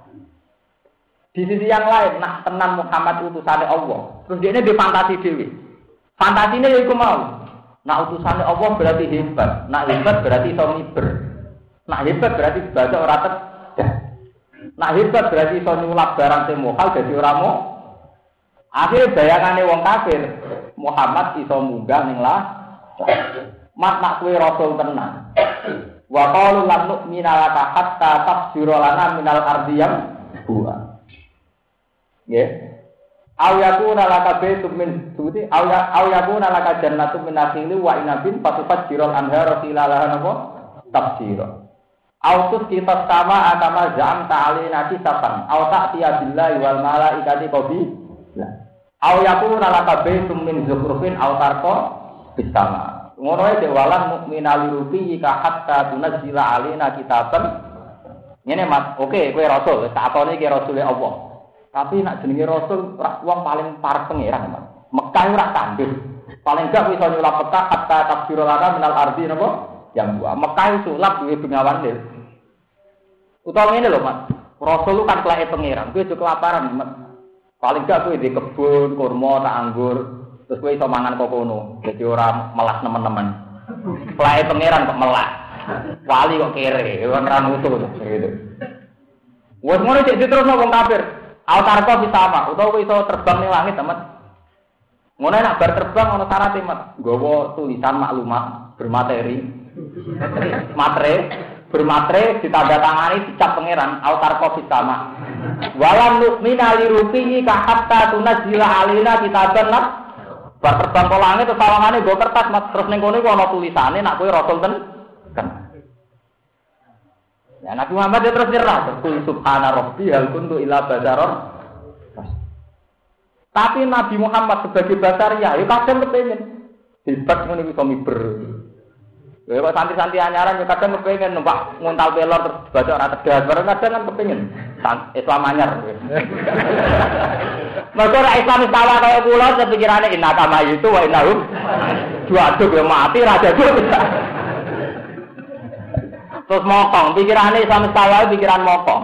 Di sisi yang lain nak tenan Muhammad utusannya Allah. Terus dia ini difantasi dewi. Fantasinya itu mau. Nak utusannya Allah berarti hebat. Nak hebat berarti iso miber. Nak hebat berarti baca ora tedah. Nak hebat berarti iso nyulap barang sing mokal dadi ora mo. Akhire bayangane wong kafir Muhammad iso munggah ning lah. Mat nak kuwi rasul tenan. Wa qalu lan nu'mina laka hatta tafsira lana minal ardiyam bu'a. Nggih. Aw yakuna laka baytun min suti aw ya aw yakuna laka jannatun min nakhili wa inabin fatufajjiral anhara khilalaha napa tafsira. Aw tusqita sama atama zam ta'alina kisafan aw ta'tiya billahi wal malaikati qabi. Aw yakuna laka baytun min zukhrufin aw tarqa bisama. Ngono ae walan mukminal ruqi ka hatta tunzila alaina kitaban. Ngene Mas, oke kowe rasul, sakone iki rasule Allah. Tapi nak jenenge rasul wong paling parek pangeran, Mas. Mekah ora kandel. Paling gak kowe iso nyulap peta hatta tafsirul lana minal ardi napa? Yang buah. Mekah sulap duwe bengawan lil. Utawa ngene lho, Mas. Rasul lu kan kelake pangeran, kowe aja kelaparan, Mas. Paling gak kowe di kebun, kurma, tak anggur. Terus kowe iso mangan kok kono. Dadi ora melas nemen-nemen. Kelake pangeran kok melas. Wali kok kere, ora mutu gitu. Wes ngono cek diterusno wong kafir. Autarko bisa apa? Utawa kowe iso terbang ning langit, Mas. Ngono nek bar terbang ana syarat e, Mas. Nggawa tulisan maklumat bermateri. Matre, bermatre ditandatangani dicap pangeran autarko bisa apa? Walam nu'mina li ruqihi ka hatta tunzila alaina kitaban lah. Bar terbang ke langit terus sawangane nggo kertas Mas terus ning kono iku ana tulisane nek kowe rasul ten kan. Ya Nabi Muhammad dia terus nyerah kul subhana rabbi hal kuntu illa basharon. Tapi Nabi Muhammad sebagai basaria ya kadang kepengin hebat ngono iku iso miber. Ya kok santri-santri anyaran ya kadang kepengin numpak nguntal pelor terus baca ora tegas bareng kadang kan kepengin Islam anyar. Maka ora Islam salah kaya kula sepikirane inna kama itu wa innahum juaduk ya mati raja duk. Terus mokong pikirane Islam salah pikiran mokong.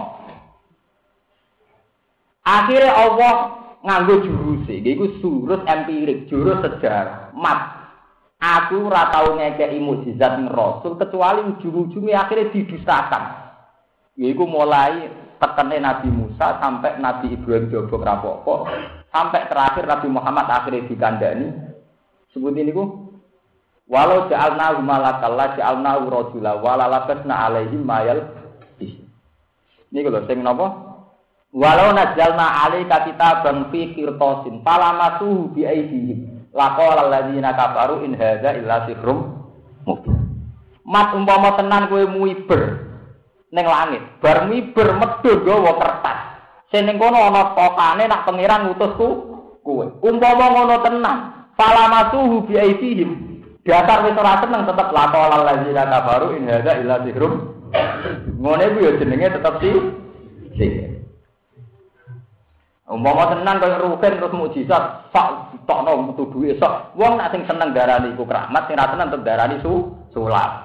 Akhirnya Allah nganggo jurus iki iku jurus empirik, jurus sejarah. Mat aku ora tau ngekeki mukjizat ning Rasul kecuali ujung-ujunge akhirnya didustakan. Yaiku mulai tekene Nabi Musa sampai Nabi Ibrahim jobok rapopo sampai terakhir Nabi Muhammad akhirnya dikandani sebutin niku walau ja'alnahu malakal la ja'alnahu rajula wala labasna alaihim mayal niku lho sing napa walau nazzalna alaika kitaban fi qirtasin falamasuhu bi aydihim laqala alladziina kafaru in hadza illa sihrun mubin. Mat umpama tenan kowe muiber ning langit, bar miber medhun gawa kertas. Sing ning kono ana tokane nak pangeran ngutusku kowe. Umpama ngono tenan, falamasuhu bi aidihim. Dasar wis ora seneng tetep laqal alladzina kafaru in hadza illa sihrun. Ngene ku ya jenenge tetep si sihir. Umpama tenan kaya rugen terus mukjizat, sak tokno metu duwe sok. Wong nek sing seneng darani iku keramat, sing ra seneng tetep darani su sulap.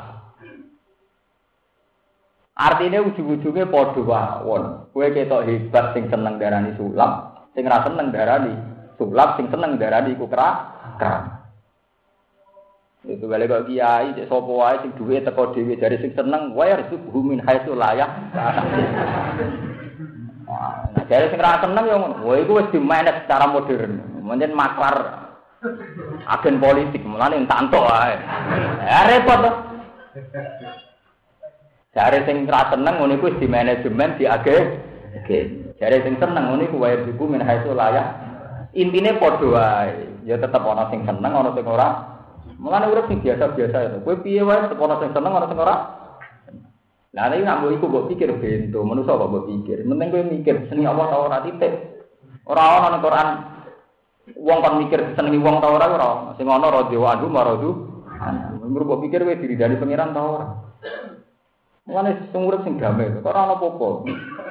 Artine ujug-ujuge padha wawon. Kowe ketok hebat sing seneng darani sulap, sing ra seneng darani sulap, sing seneng darani iku keramat. Itu balik kok kiai cek sapa wae sing duwe teko dhewe dari sing seneng wae harus bumin haitsu layak. Nah, dari sing ra seneng yo ngono. Wah iku wis di-manage secara modern. Menjen maklar agen politik mulane entak entuk wae. Ya repot to. Dari sing ra seneng ngono iku wis di-manajemen di agen. Oke. Dari sing seneng ngono iku wae bumin haitsu layak. Intine padha wae. Ya tetep ana sing seneng ana sing ora. Mulane urip sing biasa-biasa itu. Kowe piye wae ono sing seneng ono sing ora. Lah nek nak mbok iku mbok pikir bento, manusa kok mbok pikir. Penting kowe mikir seneng Allah ta ora titik. Ora ono nang Quran wong kon mikir senengi wong ta ora ora. Sing ono radhiwa anhu maradu. Mbok mbok pikir kowe diridani pangeran ta ora. Mulane sing urip sing damai, kok ora ono apa-apa.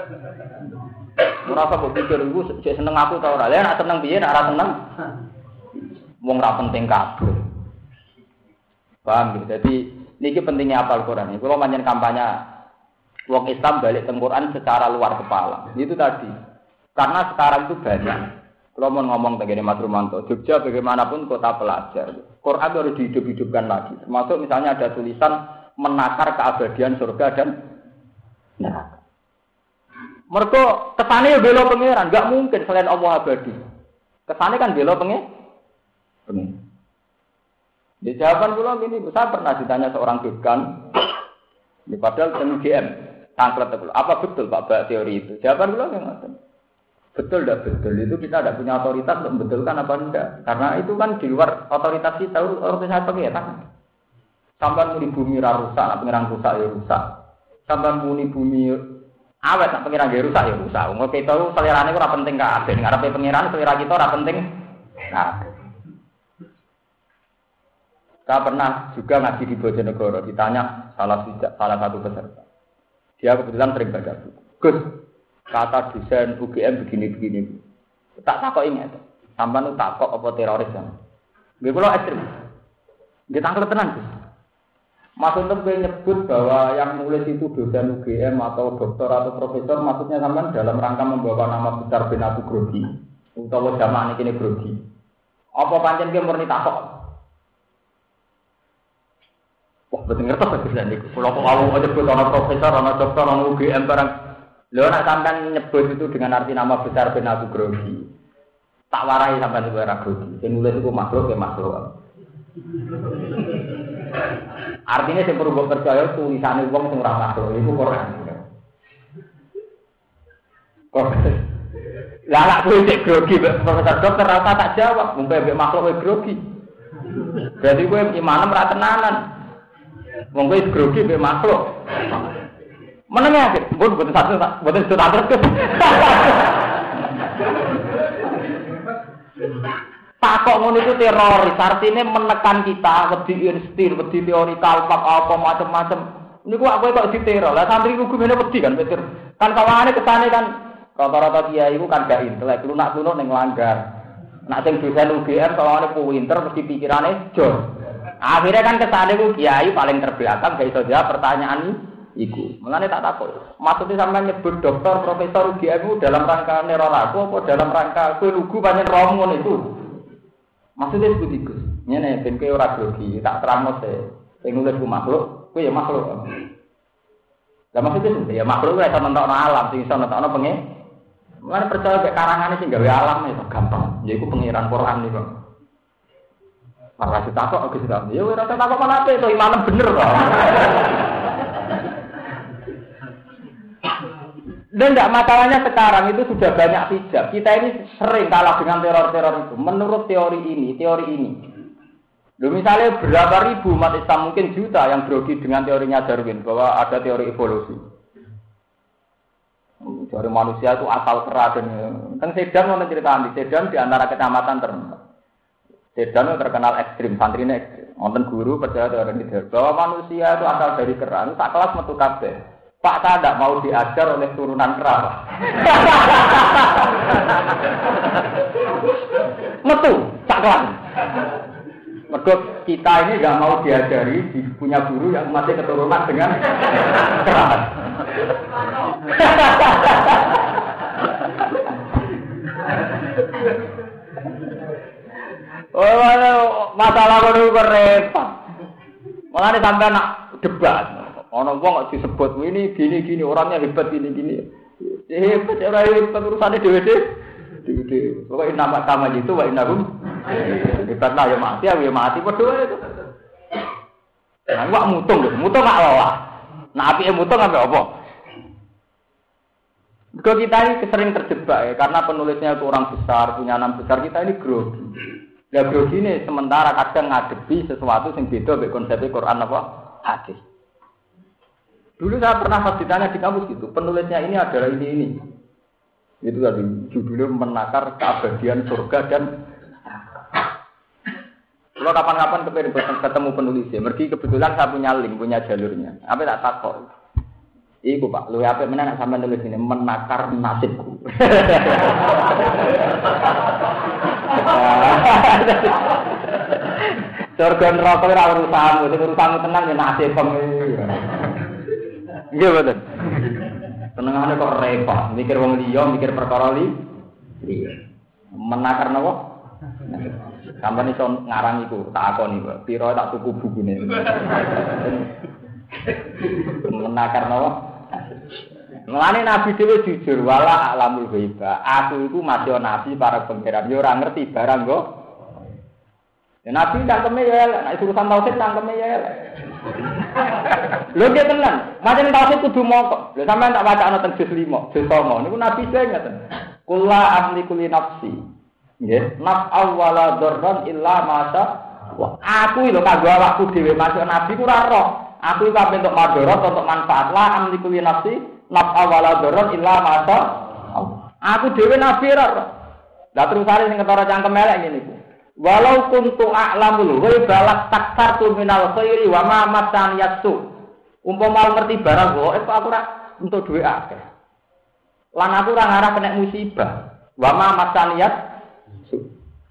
Ora kok pikir iku sik seneng aku ta ora. Lah nek seneng piye nek ora seneng. Wong ra penting kabeh. Paham gitu. Jadi niki pentingnya hafal Quran. Kalau manjen kampanye wong Islam balik ke Quran secara luar kepala. Itu tadi. Karena sekarang itu banyak. Kalau mau ngomong begini Mas Rumanto, Jogja bagaimanapun kota pelajar. Quran itu harus dihidup-hidupkan lagi. Termasuk misalnya ada tulisan menakar keabadian surga dan neraka. Mergo kesane bela pangeran, enggak mungkin selain Allah abadi. Kesane kan bela pangeran. Pangeran. Di jawaban kula gini, saya pernah ditanya seorang dekan, di padahal U G M, tangklet kula. Apa betul Pak Bak teori itu? Jawaban kula nggak betul, tidak betul. Itu kita tidak punya otoritas untuk membetulkan apa enggak. Karena itu kan di luar otoritas kita, otoritas pengiran. Sampai muni bumi rusak, nak pengiran rusak ya rusak. Sampai muni bumi awet, nak pengiran ya rusak ya rusak. Umur kita itu selerane ora penting kabeh. Ning arepe pengiran selera kita ora penting. Nah. Saya pernah juga ngaji di Bojonegoro, ditanya salah, salah satu peserta. Dia kebetulan sering baca buku. Gus, kata desain U G M begini-begini. Tak takok ingat. Sampai nu takok apa teroris kan? Gue kalau ekstrim. Dia tangkap tenang Gus. Maksudnya gue nyebut bahwa yang nulis itu dosen U G M atau dokter atau profesor, maksudnya sampai dalam rangka membawa nama besar bin Abu Grogi. Utawa zaman ini Grogi. Apa pancen gue murni takok? Wah, betul ngerti bisa nih. Kalau kalau nyebut orang profesor, orang dokter, orang U G M barang, lo nak sampai nyebut itu dengan arti nama besar bin Abu Grogi. Tak warai sampai sebuah Grogi. Yang nulis itu makhluk ya makhluk. Artinya saya perlu percaya tulisannya uang semurah makhluk itu Quran. Quran. Lah nak kuwi Grogi profesor dokter rasa tak jawab, mungkin makhluk Grogi. Berarti gue imanem ra tenanan. Wong kowe grogi mbek makhluk. Meneng ya, mbon mboten satu, mboten satu terus. Takok ngono iku teroris, artine menekan kita, wedi instir, wedi teori kalpak apa macam-macam. Niku aku kok diteror. Lah santri ku gumene wedi kan, Peter. Kan kawangane kesane kan rata-rata kiai iku kan gak intelek, lunak-lunak ning langgar. Nek sing dosen U G M kawangane pinter mesti pikirane jos. Akhirnya kan kesane ku kiai paling terbelakang gak iso jawab pertanyaan iku. Mulane tak takut. Maksudnya sampean nyebut dokter, profesor U G M dalam rangka neror aku apa dalam rangka kowe lugu pancen rom ngono itu. Maksudnya seperti itu. Ngene ben kowe ora grogi, tak terangno se. Sing nulis ku makhluk, kowe ya makhluk. Lah maksudnya ya makhluk ora iso nentokno alam, sing iso nentokno pengen. Mulane percaya mek karangane sing gawe alam itu gampang. Yaiku pengiran Quran niku. Para ditakok Agus Ram. Ya ora takok mana ape to imanem bener kok. Dan enggak masalahnya sekarang itu sudah banyak hijab. Kita ini sering kalah dengan teror-teror itu. Menurut teori ini, teori ini. Loh misalnya berapa ribu umat Islam mungkin juta yang grogi dengan teorinya Darwin bahwa ada teori evolusi. Teori manusia itu asal kera dan kan Sedan mau cerita di Sedan di antara kecamatan terkenal. Sedan terkenal ekstrim, santrinya ekstrim. Wonten guru percaya teori ini bahwa manusia itu asal dari kera. Tak kelas metu kabeh. Pak saya tidak mau diajar oleh turunan kerabat. Metu, caklan. Mergo kita ini nggak mau diajari punya guru yang masih keturunan dengan kerabat. Oh, masalah itu repot. Malah nih sampai nak debat. Orang wong kok disebut ini gini gini orangnya hebat gini gini. Hebat orang hebat urusannya dewe-dewe. Dewe-dewe. Pokoknya nama sama itu wa innahum. Hebat lah ya mati ya mati padha itu. Nah, wak mutung lho, mutung gak loh. Nah, apike mutung sampai apa? Kalau kita ini sering terjebak ya, karena penulisnya itu orang besar, punya nama besar, kita ini grogi. Ya grogi ini sementara kadang ngadepi sesuatu yang beda dengan konsep Quran apa? Hadis. Dulu saya pernah pas ditanya di kampus gitu, penulisnya ini adalah ini ini. Itu tadi judulnya menakar keabadian surga dan kalau kapan-kapan kepengen ketemu penulisnya, mergi kebetulan saya punya link, punya jalurnya. Apa tak takut? Iku Pak, lu apa mana nak sampai nulis ini menakar nasibku. Surga neraka ora urusanmu, sing urusanmu tenang ya nasib pemilih. Nggih betul. Tenangane kok repot, mikir wong liya, mikir perkara li. Iya. Menakar napa? Sampai iso ngarang iku, tak akoni, Pak. Piro tak tuku bukune. Menakar napa? Mulane Nabi dhewe jujur wala alamul ghaiba. Aku iku masih nabi para pangeran, yo ora ngerti barang kok. Ya Nabi cangkeme ya elek, nek urusan tauhid cangkeme ya elek. Lho nggih tenan, macam tauhid kudu mokok. Lho sampean tak wacana teng juz lima, juz songo niku Nabi sing ngaten. Qul la amliku li nafsi. Nggih, naf'al wala dzarran illa ma sya Allah. Aku lho kanggo awakku dhewe masuk nabi ku ora roh. Aku iku ape untuk madharat untuk manfaat la amliku li nafsi naf'al wala dzarran illa ma sya Allah. Aku dhewe nabi ora roh. Lah terusane sing ketara cangkem elek ngene iku. Walau kuntu a'lamul ghaiba laktartu minal khairi wa ma masan yasu. Umpama ngerti barang kok aku ora entuk dhuwit akeh. Lan aku ora ngarah kena musibah. Wa ma masan yasu.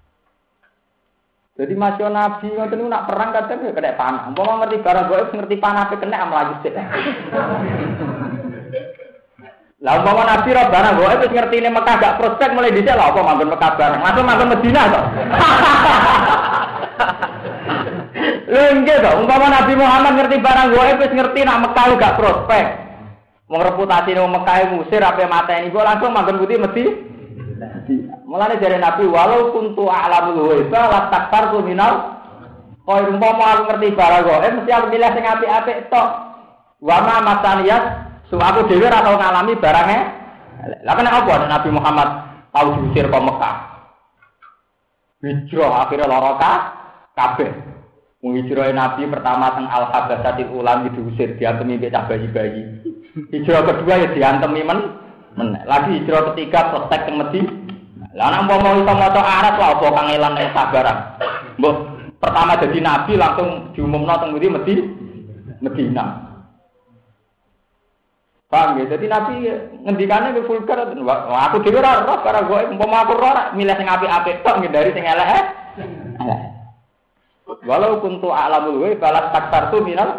Jadi masih nabi ngoten niku nak perang kadang ya kena panah. Umpama ngerti barang kok ngerti panah pe kena mlayu sik. Lah umpama nabi ora barang kok wis ngertine Mekah gak prospek mulai dhisik lha apa manggon Mekah barang. Langsung manggon Madinah kok. Lha nggih to, umpama Nabi Muhammad ngerti barang kok wis ngerti nak Mekah gak prospek. Wong reputasine wong Mekah ngusir ape mateni kok langsung manggon putih mesti. Mulane jare Nabi walau kuntu a'lamul ghaiba la taktartu minal kok umpama aku ngerti barang kok mesti aku milih sing apik-apik tok. Wa ma masaniyat so aku dhewe ora tau ngalami barange. Lah kena apa Nabi Muhammad tau diusir ke Mekah. Hijrah akhirnya lara kabeh. Wong hijrah Nabi pertama teng Al-Habasyatil Ulam diusir diantemi mbek cah bayi-bayi. Hijrah kedua ya diantemi men. men. Lagi hijrah ketiga protek teng Medina. Lah nek umpama iso maca Arab lha apa kangelan nek sabaran. Mbok pertama jadi nabi langsung diumumno teng Medina. Medina. Paham ya? Jadi Nabi ngendikane ke vulgar aku dhewe ora roh karo kowe umpama aku ora milih sing apik-apik tok ngindari sing elek. Walau kuntu a'lamul ghaib balas taktartu minal.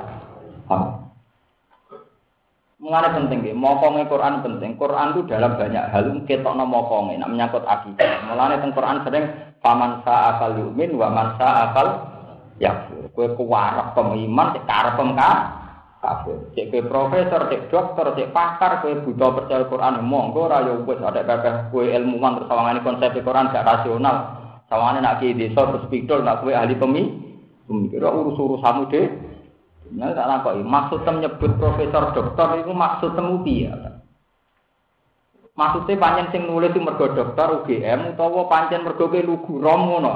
Mengane penting nggih, mokonge Quran penting. Quran itu dalam banyak hal ketokno mokonge, nek menyangkut akidah. Mulane teng Quran sering faman sa'akal yu'min wa man sa'akal yakfur. Kowe kuwarep pemiman sik karepem ka kabeh. Cek kowe profesor, cek dokter, cek pakar, kowe buta percaya Quran monggo ora ya wis ada kabeh kowe ilmuwan terus sawangane konsep Quran gak rasional. Sawangane nak ki desa terus pidol nak kowe ahli pemi, pemikir urus-urusanmu dhewe. Nek tak takoki, maksud tem nyebut profesor dokter iku maksud temu piye? Maksudnya pancen sing nulis itu mergo dokter U G M utawa pancen mergo kowe lugu rom ngono.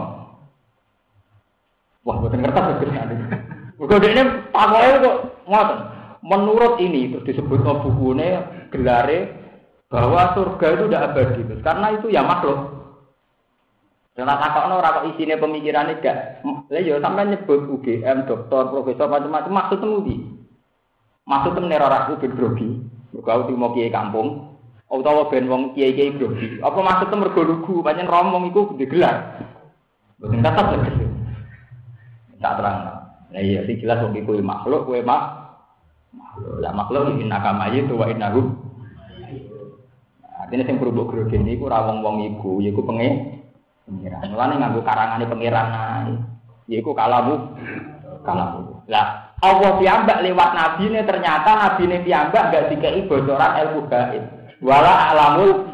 Wah, boten ngertos Gus. Mergo dekne takoke kok ngoten. Menurut ini terus disebut bukunya gelare bahwa surga itu tidak abadi, karena itu ya makhluk. Jangan takokno ora kok isine pemikirane gak. Lah ya sampean nyebut U G M, dokter, profesor macam-macam maksudmu ndi? Maksud temen ora aku ben grogi. Mergo aku timo kiai kampung, utawa ben wong kiai-kiai grogi. Apa maksud temen mergo lugu, pancen romong iku digelar. Mboten tetep tegese. Tak terang. Lah iya sing jelas wong iku makhluk, kowe mak makhluk. Lah makhluk iki nakama itu wa innahu. Artinya sing berubuk grogi niku ora wong-wong iku, yaiku penge pengiran. Mulane nganggo karangane pengiran ae. Yaiku kalamu kalamu. Lah Allah piyambak lewat nabi ini ternyata nabi ini piyambak enggak dikei bocoran ilmu gaib. Wala alamul.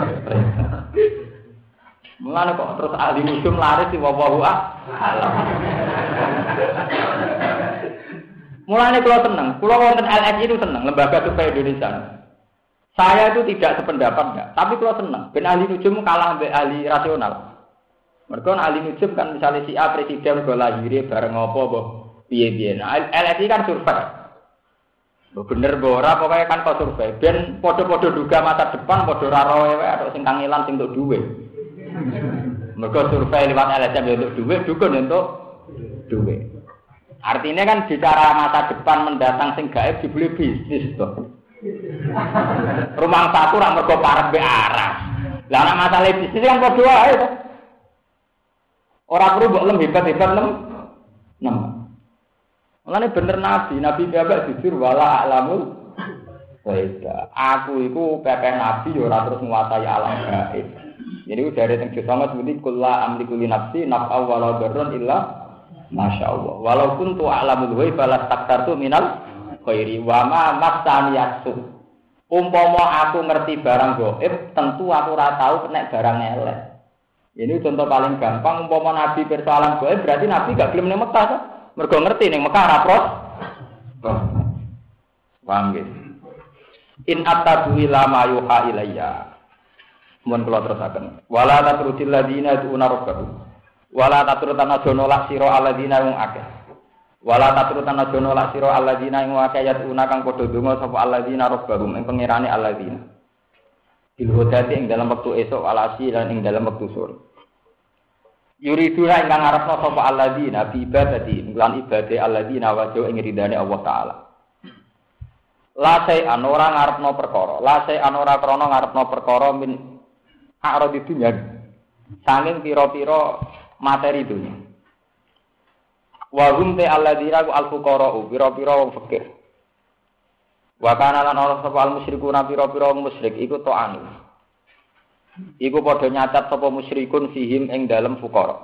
Mulane kok terus ahli nujum laris di wallahu a'lam. Mulane kula seneng, kula wonten L S I itu seneng, Lembaga Survei Indonesia. Saya itu tidak sependapat enggak, tapi kula seneng. Ben ahli nujum kalah mbek ahli rasional. Mergo ahli nujum kan misalnya si A presiden go lahir bareng apa apa piye-piye. Nah, L S I kan survei. Bener ora pokoknya kan kok survei. Ben padha-padha duga masa depan padha ora roe wae atau sing kangelan sing entuk dhuwit. Mergo survei lewat L S M untuk dhuwit, dukun untuk dhuwit. Artinya kan bicara masa depan mendatang sing gaib dibeli bisnis to. Rumah satu ora mergo parek be arah. Lah ana masalah bisnis kan padha wae to. Ora perlu mbok lem hebat-hebat lem. Nem. Mulane bener nabi, nabi bapak jujur wala alamul ghaib. Aku iku pepe nabi ya ora terus nguasai alam gaib. Jadi dari teng sama seperti kullu amliku li nafsi naf'a wa la darrun illa masyaallah. Walau kuntu a'lamul ghaib la taktartu minal khairi wa ma masani yasu. Umpama aku ngerti barang gaib, tentu aku ora tahu nek barang elek. Ini contoh paling gampang, umpama nabi persoalan gaib berarti nabi gak gelem ning Mekah to. Mergo ngerti ning Mekah ora pros. Paham nggih. In attabu ila ma yuha ilayya. Mun kula terusaken. Wala tatrudil ladina tu'una rabbahum. Wala tatrutan aja nolak sira alladzina wong akeh. Wala tatrutan aja nolak sira alladzina wong akeh yatuna kang padha donga sapa alladzina rabbahum ing pangerane alladzina. Bil hodati ing dalam wektu esuk alasi lan ing dalam wektu sore. Yuriduna ingkang ngarepno sapa alladzina bi ibadati lan ibade alladzina wajhu ing ridane Allah taala. La sai anora ngarepno perkara, la sai anora krana ngarepno perkara min arad dunya. Saking pira-pira materi dunya. Wa hum ta alladzina al-fuqara pira-pira wong fakir. Wa kana lan ana sapa al-musyrikuna pira-pira wong musyrik iku ta'anu. Iku padha nyacat sapa musyrikun fihim ing dalem fuqara.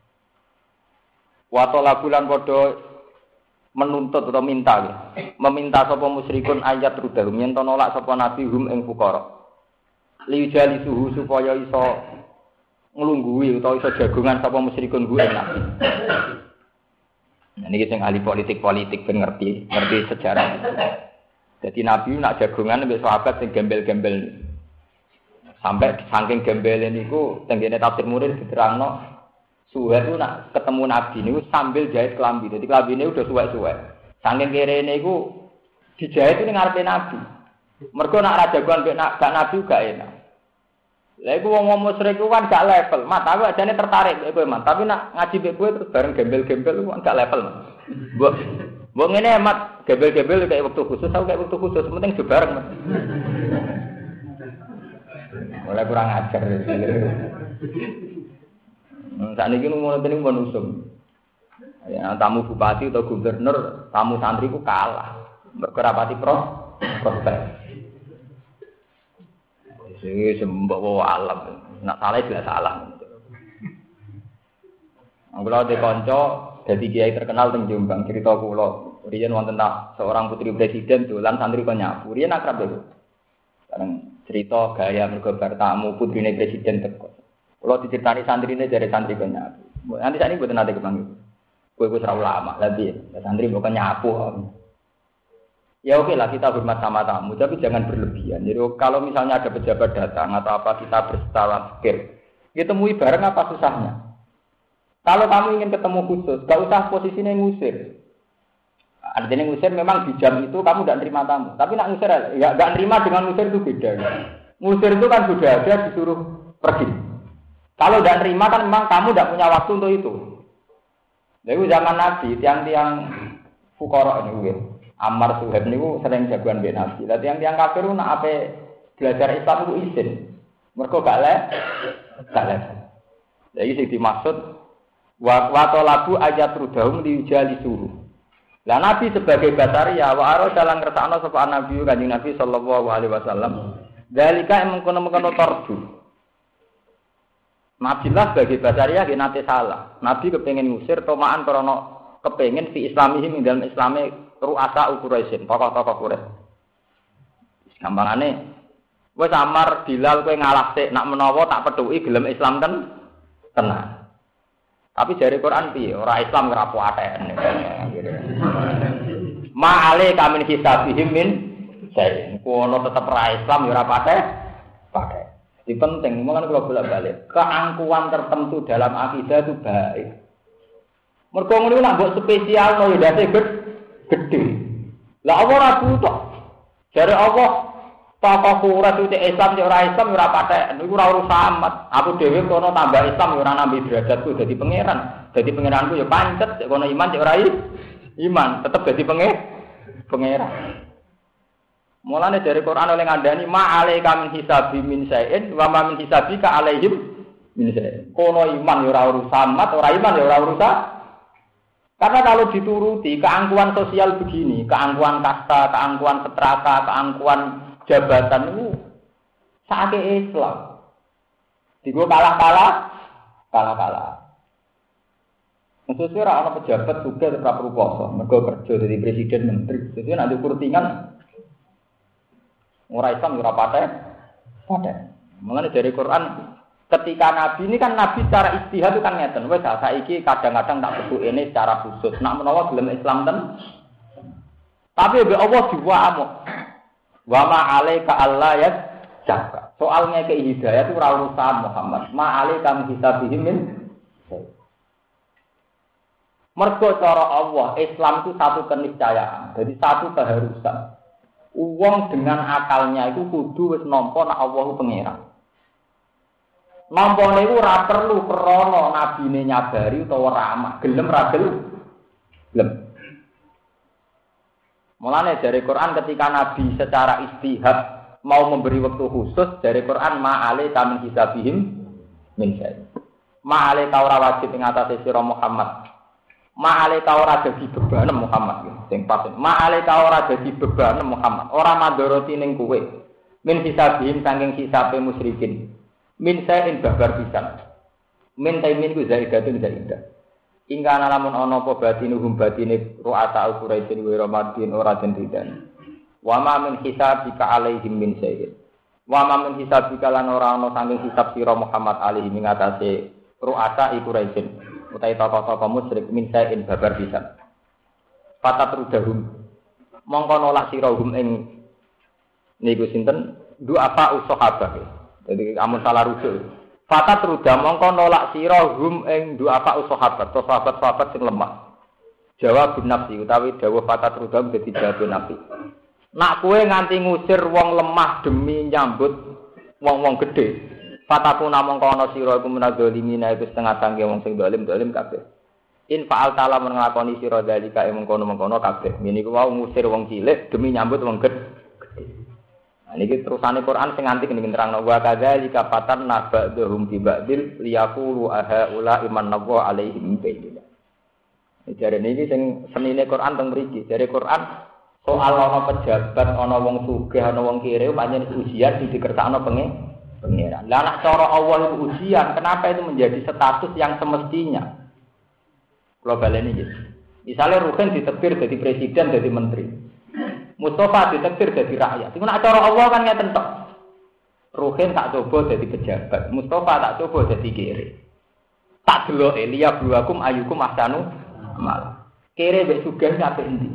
Wa talabulan padha menuntut atau minta ya. Meminta sapa musyrikun ayat rudahum yen to nolak sapa nabi hum ing fuqara. Li jali suhu supaya iso nglungguhi utawa iso jagongan sapa musyrikun ku ing nabi. Nah niki sing ahli politik-politik ben ngerti, ngerti sejarah. Jadi nabi nak jagongan mbek sahabat sing gembel-gembel. Sampai saking gembele niku tenggene tafsir murid diterangno suwe itu nak ketemu nabi niku sambil jahit kelambi. Jadi kelambine udah suwek-suwek. Saking kerene iku dijahit ning ngarepe nabi. Mergo nak ra jagoan mek nak gak nabi gak enak. Lah iku wong musyrik ku kan gak level. Mat aku ajane tertarik mek kowe, Mat. Tapi nak ngaji mek kowe terus bareng gembel-gembel ku gak level, Mat. Mbok mbok ngene Mat, gembel-gembel kayak waktu khusus, aku kayak waktu khusus, penting do bareng, Mat. Mulai kurang ajar. Hmm, saat ini ngono tening mun usum. Ya, tamu bupati atau gubernur, tamu santri ku kalah. Mergo rapati pros, prospek. Sing sembawa alam. Nak salah jelas salah. Anggola de kanca dadi kiai terkenal teng Jombang, cerita kula. Riyen wonten tak seorang putri presiden dolan santri kok nyapu. Riyen akrab lho. Bareng cerita gaya mergo bar tamu putrine presiden teko. Kula diceritani santrine jare santri kok nyapu. Nanti sakniki mboten nate kepanggih. Kowe wis ora ulama, lha piye? Santri kok nyapu. Ya oke lah kita hormat sama tamu, tapi jangan berlebihan. Jadi kalau misalnya ada pejabat datang atau apa kita berstawa pikir, kita temui bareng apa susahnya? Kalau kamu ingin ketemu khusus, gak usah posisinya ngusir. Artinya ngusir memang di jam itu kamu tidak terima tamu. Tapi nak ngusir, ya gak terima dengan ngusir itu beda. Ya. Ngusir itu kan sudah ada disuruh pergi. Kalau tidak terima kan memang kamu tidak punya waktu untuk itu. Jadi zaman Nabi, tiang-tiang fukara ini, Ammar Suhaib niku sering jagoan mbek Nabi. Lah tiyang-tiyang kafir nak ape belajar Islam iku izin. Mergo gak le gak le. Lah iki sing dimaksud wa wa talabu ayat rudahum diujali suruh. Lah Nabi sebagai basaria wa aro dalang ngersakno sapa Nabi Kanjeng Nabi sallallahu alaihi wasallam. Dalika mengkono-mengkono tarju. Nabi lah sebagai basaria nggih nate salah. Nabi kepengin ngusir tomaan krana kepengin fi islamihim ing dalam islame ru'asa Quraisyin, tokoh-tokoh Quraisy. Gampangane wis Ammar Bilal kowe ngalah sik nak menawa tak pethuki gelem Islam ten tenan. Tapi jare Quran piye? Ora Islam ora kuwaten. Ma'ale kamin hisabihim min saya. Kono tetep ora Islam ya ora pate. Pate. Ini penting, makanya kalau bolak-balik keangkuhan tertentu dalam akidah itu baik. Mergo ngono nak mbok spesial no ya dadi gede. Lah apa ora butuh? Jare Allah tokoh Quraisy itu Islam ya ora Islam ya ora patek. Niku ora urusan amat. Aku dhewe kono tambah Islam ya ora nambah derajatku dadi pangeran. Dadi pangeranku ya pancet, kono iman ya ora iman, tetep dadi pangeran. Mulane dari Quran oleh ngandani ma alaika min hisabi min sayin wa ma min hisabika alaihim min sayin. Kono iman ya ora urusan amat, ora iman ya ora urusan. Karena kalau dituruti keangkuhan sosial begini, keangkuhan kasta, keangkuhan strata, keangkuhan jabatan itu sakit Islam. Digo kalah-kalah, kalah-kalah. Maksudnya orang pejabat juga tetap berkuasa, mereka kerja dari presiden menteri. Jadi nanti kurtingan orang Islam ora paten, paten. Mengenai dari Quran. Ketika Nabi ini kan Nabi secara istihad itu kan ngeten, wes saiki kadang-kadang tak sebut ini secara khusus. Nak menawa gelem Islam ten. Tapi be Allah diwamu. Wa ma alaika alla yazaka. Soalnya ke hidayah itu ora urusan Muhammad. Ma alaika min hisabihim min. Mergo cara Allah, Islam itu satu keniscayaan. Jadi satu keharusan. Uang dengan akalnya itu kudu wis nampa nek Allah ku pangeran. Nampa niku ora perlu krana nabine nyabari utawa ramah, gelem ra gelem. Mulane dari Quran ketika Nabi secara istihad mau memberi waktu khusus dari Quran ma'ale tamin hisabihim min syai. Ma'ale ta ora wajib ing atase sira Muhammad. Ma'ale ta ora dadi beban Muhammad sing pas. Ma'ale ta ora dadi beban Muhammad. Ora mandoroti ning kowe. Min hisabihim saking hisabe musyrikin. Min sayin babar pisan. Min taimin ku zaidatun zaidah. Ingkana lamun ana apa batinuhum batine ru'ata Quraisy wa Ramadin ora den didan. Wa ma min hisabika alaihim min sayin. Wa ma min hisabika lan ora ana saking hisab sira Muhammad alaihi ing atase ru'ata Quraisy utawi tokoh-tokoh musyrik min sayin babar pisan. Fatatrudahum mongko nolak sira hum ing niku sinten du apa usahabah. Jadi amun salah rujuk. Fatat ruda mongko nolak sira hum ing doa apa sahabat, sahabat-sahabat sing lemah. Jawab nafsi utawi dawuh fatat ruda dadi jawab nafsi. Nak kowe nganti ngusir wong lemah demi nyambut wong-wong gedhe. Fataku namung ana sira iku menadzalimina iku setengah tangge wong sing dolim-dolim kabeh. In fa'al ta'ala menglakoni sira dalika ing mengkono-mengkono kabeh. Ngene iku wau ngusir wong cilik demi nyambut wong gedhe. Niki terusane Quran sing nganti kene nerangno wa kadzalika fatan nabadhum bi ba'dil liyaqulu aha ula iman nawa alaihim bayyina. Jare niki sing senine Quran teng mriki. Jare Quran soal ana pejabat, ana wong sugih, ana wong kire pancen ujian dikersakno pengeran. Lah nek cara Allah itu ujian, kenapa itu menjadi status yang semestinya? Kula baleni iki. Misale Ruhin ditekbir dadi presiden, dadi menteri. Mustafa ditektir jadi rakyat. Iku nek cara Allah kan ngeten tok. Ruhin tak coba jadi pejabat, Mustafa tak coba jadi kere. Tak deloke liya buakum ayukum ahsanu amal. Kere wis sugih kabeh endi.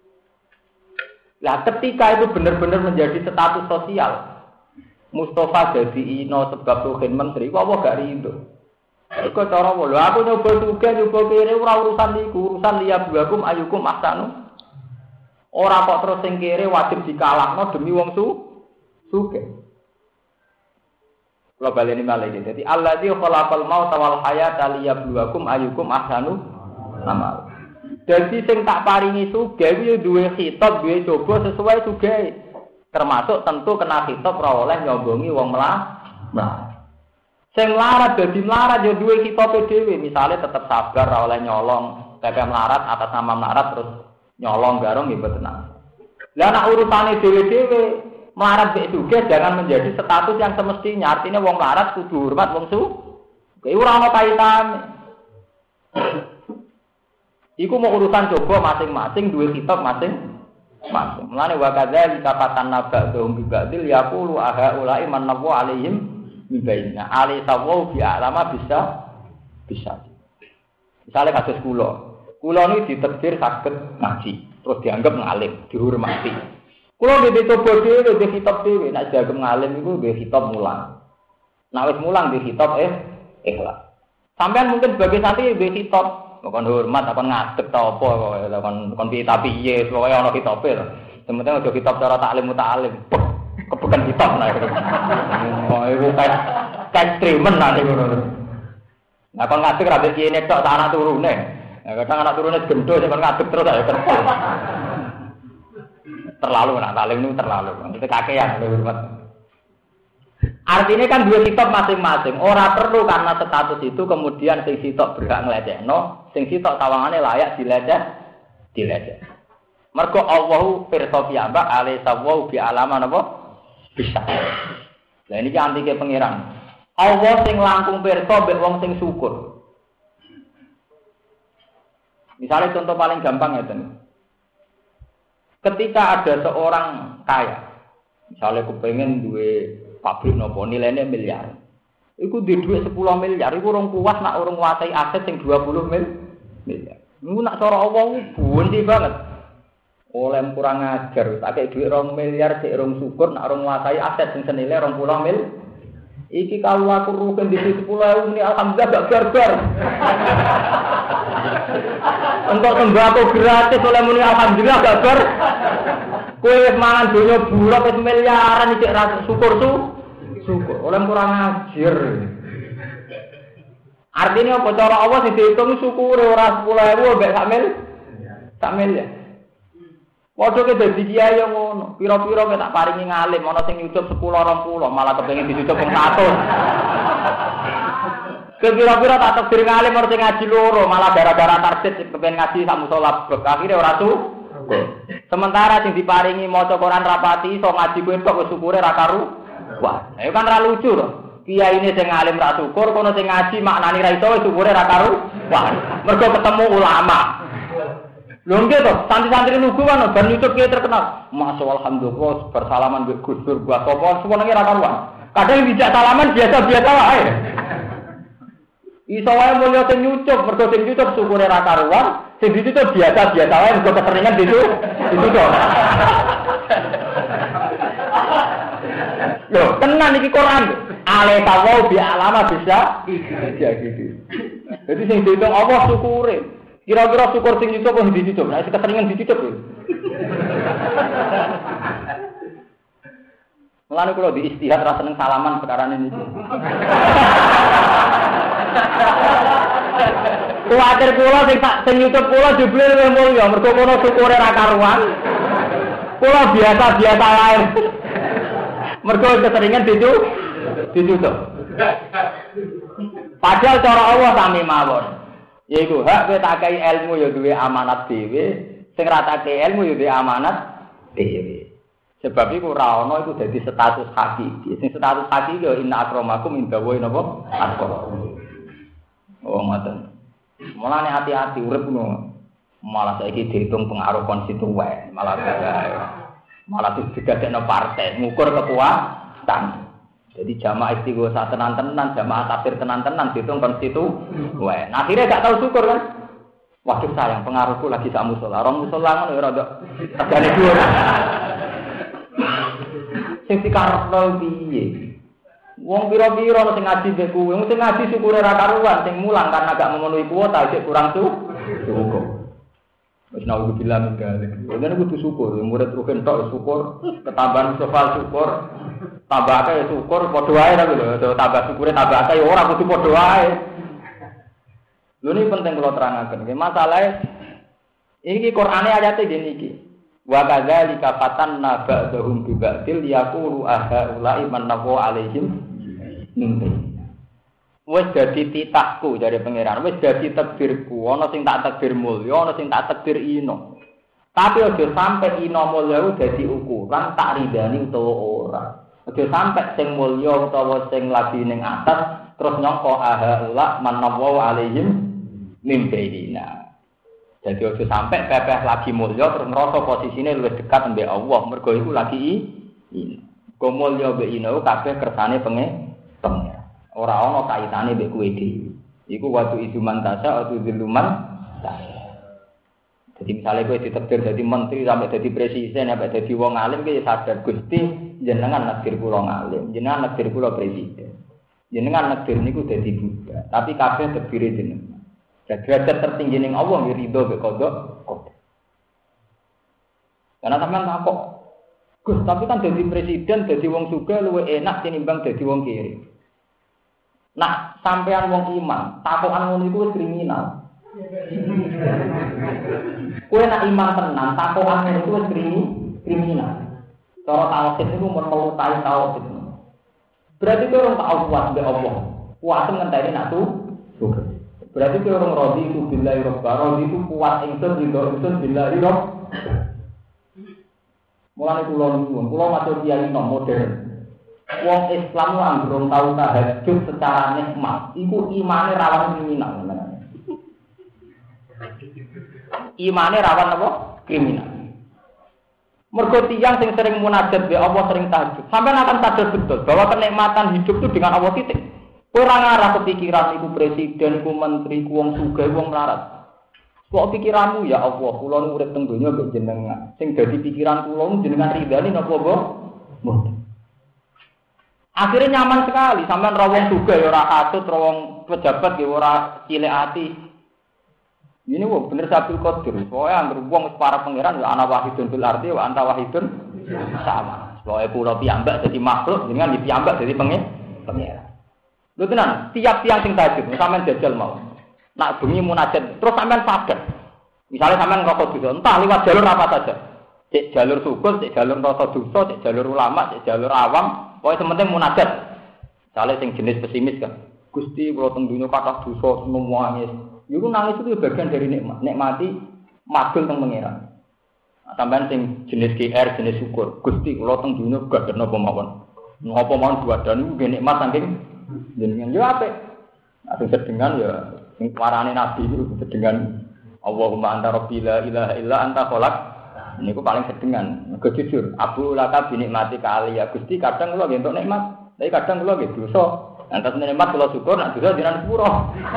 Lah ketika itu benar-benar menjadi status sosial. Mustafa jadi ino sebab Ruhin menteri, kok Allah gak rido. Iku cara Allah. Lho aku nyoba sugih nyoba kere ora urusan niku, urusan liya buakum ayukum ahsanu. Ora kok terus sing kere wajib dikalahno demi wong su sugih. Kula baleni malih iki. Dadi allazi khalaqal mauta wal hayata liyabluwakum ayyukum ahsanu amal. Dadi sing tak paringi sugih kuwi duwe khitab, duwe coba sesuai sugih. Termasuk tentu kena khitab ora oleh nyombongi wong melarat. Sing melarat dadi melarat ya duwe khitabe dhewe, misale tetep sabar ora oleh nyolong, pepe melarat atas nama melarat terus nyolong garong nggih boten. Lah nek urusane dhewe-dhewe melarat mek sugih jangan menjadi status yang semestinya. Artinya wong melarat kudu hormat wong su. Kuwi ora ana kaitane. Iku mau urusan coba masing-masing duwe kitab masing-masing. Mulane wa kadzalika fatanna ba'dhum bi ba'dil yaqulu aha ulai man nawu alaihim min baina. Ali sawu bi alama bisa bisa. Misale kados kula. Kula niku ditakdir saged ngaji, terus dianggap ngalim, dihormati. Kula nggih coba dhewe nggih kitab dhewe, nek dianggap ngalim iku nggih kitab mulang. Nek wis mulang nggih kitab eh ikhlas. Sampeyan mungkin sebagai santri nggih kitab kon hormat kon ngadeg ta apa kok kon kon piye ta piye pokoke ana kitabe lho. Sementara aja kitab cara taklim muta'alim. Kebukan kitab nah. Oh iku kayak kayak tremen nah ngono. Nah kon ngadeg ra kene tok anak turune. Nah kadang anak turune gendho sing kon ngadeg terus ae kerja. Terlalu nak taklim niku terlalu. Itu kakean hormat. Artinya kan dua kitab masing-masing. Ora perlu karena status itu kemudian sing sitok berhak nglecehno, sing sitok tawangane layak dileceh, dileceh. Mergo Allahu pirsa piyambak alaihi sawu bi alaman apa? Bisa. Lah ini kan antike pangeran. Allah sing langkung pirsa mbek wong sing syukur. Misalnya contoh paling gampang ngeten. Ketika ada seorang kaya, misalnya kepengen duwe pabrik nopo nilainya miliar. Iku di duit sepuluh miliar, iku orang kuat nak orang nguasai aset yang dua puluh miliar. Iku nak cara Allah bunti banget. Oleh kurang ajar, tak kayak duit orang miliar, cek orang syukur nak orang nguasai aset yang senilai orang puluh mil. Iki kalau aku rugen di sepuluh ribu ini alhamdulillah gak barbar. Untuk sembako gratis oleh muni alhamdulillah gak bar. Kowe mangan donya burak wis miliaran iki ra syukur su. Syukur. Oleh kurang ajar. Artinya apa cara Allah sing diitung syukure ora sepuluh ribu mbek sak mil. Sak mil ya. Padha ke dadi kiai yo ngono. Pira-pira ke tak paringi ngalim ana sing nyucup sepuluh dua puluh malah kepengin dicucup wong seratus. Kira-kira tak takdir ngalim ora sing ngaji loro malah gara-gara target kepengin ngaji sak musala akhire ora su. Sementara sing diparingi maca Quran rapati iso ngaji kuwi tok wis syukure ra karu. Wah, ayo kan ra lucu to. Kiai ini sing ngalim ra syukur, kono sing ngaji maknani ra iso wis syukure ra karu. Wah, mergo ketemu ulama. Lho nggih to, santri-santri lugu kan ben YouTube kiai terkenal. Masyaallah alhamdulillah bersalaman mbek Gus Dur gua sapa semono ra karuan. Kadang dijak salaman biasa-biasa wae. Iso wae mulya sing nyucup, mergo sing nyucup syukure ra karuan. Sing ditutup biasa-biasa wae mergo keseringan ditu ditutup. Lho, tenan iki Quran. Ale tawau bi alama bisa iya gitu. Jadi sing dihitung Allah syukure. Kira-kira syukur sing ditutup apa ditutup? Nek keseringan ditutup lho. Mulane kula di istihad ra seneng salaman sekarang ini. Kuwatir kula sing tak sing YouTube kula jebule luwih mulya mergo kono syukure ra karuan. Kula biasa-biasa lain. Mergo keseringan ditu ditutup. Padahal cara Allah sami mawon. Yaiku hak kowe tak kei ilmu ya duwe amanat dhewe, sing ra tak kei ilmu ya duwe amanat dhewe. Sebab iku ora ana iku dadi status hakiki. Sing status hakiki ya inna akramakum indallahi napa? Atqakum. Oh ngoten. Mulane hati-hati urip ngono. Malah saiki dihitung pengaruh konstituen, malah gawe. Malah digadekno partai, ngukur kekuatan. Jadi jamaah istighosa tenan-tenan, jamaah takbir tenan-tenan dihitung konstituen. Nah, akhirnya gak tahu syukur kan? Waduh sayang, pengaruhku lagi sak musala. Orang musala ngono ya rada tegane dhuwur. Sing dikarepno piye? Wong pira-pira sing ngaji mbek kuwi, sing ngaji syukure ra karuan, sing mulang karena gak memenuhi kuota, sik kurang syukur. Wis nawu bilang gale. Dene kudu syukur, murid rugen tok syukur, ketambahan sofal syukur, tambah akeh syukur padha wae ta lho, tambah syukure tambah akeh ora kudu padha wae. Lho ini penting kula terangaken. Nggih masalahe Iki Qur'ane ayate ngene iki. Wa kadzalika fatanna ba'dahum bi ba'dil yaqulu aha ulai mannahu alaihim min. Wis dadi titahku dari pangeran, wis dadi takdirku, ana sing tak takdir mulya, ana sing tak takdir ino. Tapi aja sampe ino mulya dadi ukuran tak ridani utawa ora. Aja sampe sing mulya utawa sing lagi ning atas terus nyangka aha ula mannahu alaihim min bainina. Jadi ojo sampai pepeh lagi mulya terus ngerasa posisine luwih dekat mbek Allah, mergo iku lagi ini. Go mulya mbek ino kabeh kersane penge pengen. Ora ana kaitane mbek kowe dhewe. Iku watu iduman tasa atau diluman tasa. Jadi misalnya kowe ditakdir dadi menteri sampai dadi presiden sampai dadi wong alim kowe sadar Gusti jenengan nakdir kula ngalim, jenengan nakdir kula presiden. Jenengan nakdir niku dadi budak, tapi kabeh takdire jenengan. Derajat tertinggi ning Allah ya ridho mek kodok. Karena sampean takok, Gus, tapi kan dadi presiden, dadi wong sugih luwih enak tinimbang dadi wong kiri. Nah, sampean wong iman, takokan ngono iku wis kriminal. Kowe nek iman tenan, takokan ngono iku wis kriminal. Cara tauhid niku mun melukai tauhid. Berarti kowe ora tau kuat mbek Allah. Kuat ngenteni nak tu sugih. Berarti kalau orang rodi itu billahi robba, rodi itu kuat ingsun ridho ingsun billahi rob. Mulane kula niku, kula matur kiai nom modern. Wong Islam lan durung tau tahajud secara nikmat, iku imane rawan kriminal. Imane rawan apa? Kriminal. Mergo tiyang sing sering munajat be Allah sering tahajud, sampean akan sadar betul bahwa kenikmatan hidup itu dengan Allah titik. Ora ngarah kepikiran iku presiden, iku menteri, iku wong sugih, wong melarat. Kok pikiranmu ya Allah, kula nu urip teng donya mbek jenengan. Sing dadi pikiran kula nu jenengan ridani napa mboten. Akhirnya nyaman sekali, sampean ra wong sugih ya ora katut, ra wong pejabat ya ora cilik ati. Ini wong bener Sabtu Qadir. Pokoke anggere wong wis para pangeran ya ana wahidun fil ardi wa anta wahidun sama. Pokoke kula piyambak dadi makhluk, jenengan di piyambak dadi pangeran. Lho tenan, tiap tiang sing tahajud, sampean jajal mau. Nak bengi munajat, terus sampean sadar. Misalnya sampean ngerasa dosa, entah lewat jalur apa saja. Cek jalur syukur, cek jalur rasa dosa, cek jalur ulama, cek jalur awam, pokoknya sementing munajat. Misalnya sing jenis pesimis kan. Gusti kula teng dunya kathah dosa seneng nangis. Iku nangis itu bagian dari nikmat. Nikmati magel teng pangeran. Sampean sing jenis G R, jenis syukur. Gusti kula teng dunya gak ana apa mawon. Napa mawon duwadane iku nikmat saking jenengan yo apik. Asing sedengan ya sing warane nabi itu sedengan Allahumma anta rabbi la ilaha illa anta khalaq. Niku paling sedengan. Mergo jujur, Abu Laka bi nikmati kali ya Gusti kadang kula nggih entuk nikmat, tapi kadang kula nggih dosa. Antas nikmat kula syukur nek dosa jenengan sepuro.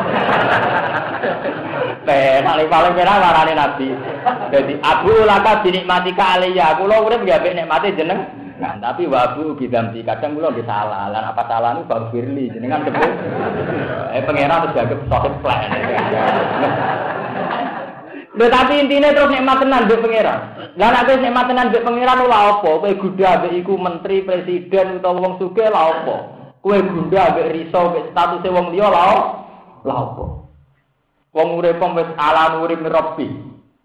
Teh paling paling penak warane nabi. Dadi Abu Laka bi nikmati kali ya kula urip nggih apik nikmate jeneng. Nah, tapi wabu bidamti kadang kula nggih salah. Lan apa salah niku baru firli jenengan sebut. Eh pangeran terus dianggap sahib plan. Lha tapi intine terus nikmat tenan mbek pangeran. Lah nek wis nikmat tenan mbek pangeran lha apa? Kowe gudha mbek iku menteri, presiden utawa wong sugih lha apa? Kowe gudha mbek riso mbek statuse wong liya lha lha apa? Wong urip wis ala nuri mirabbi.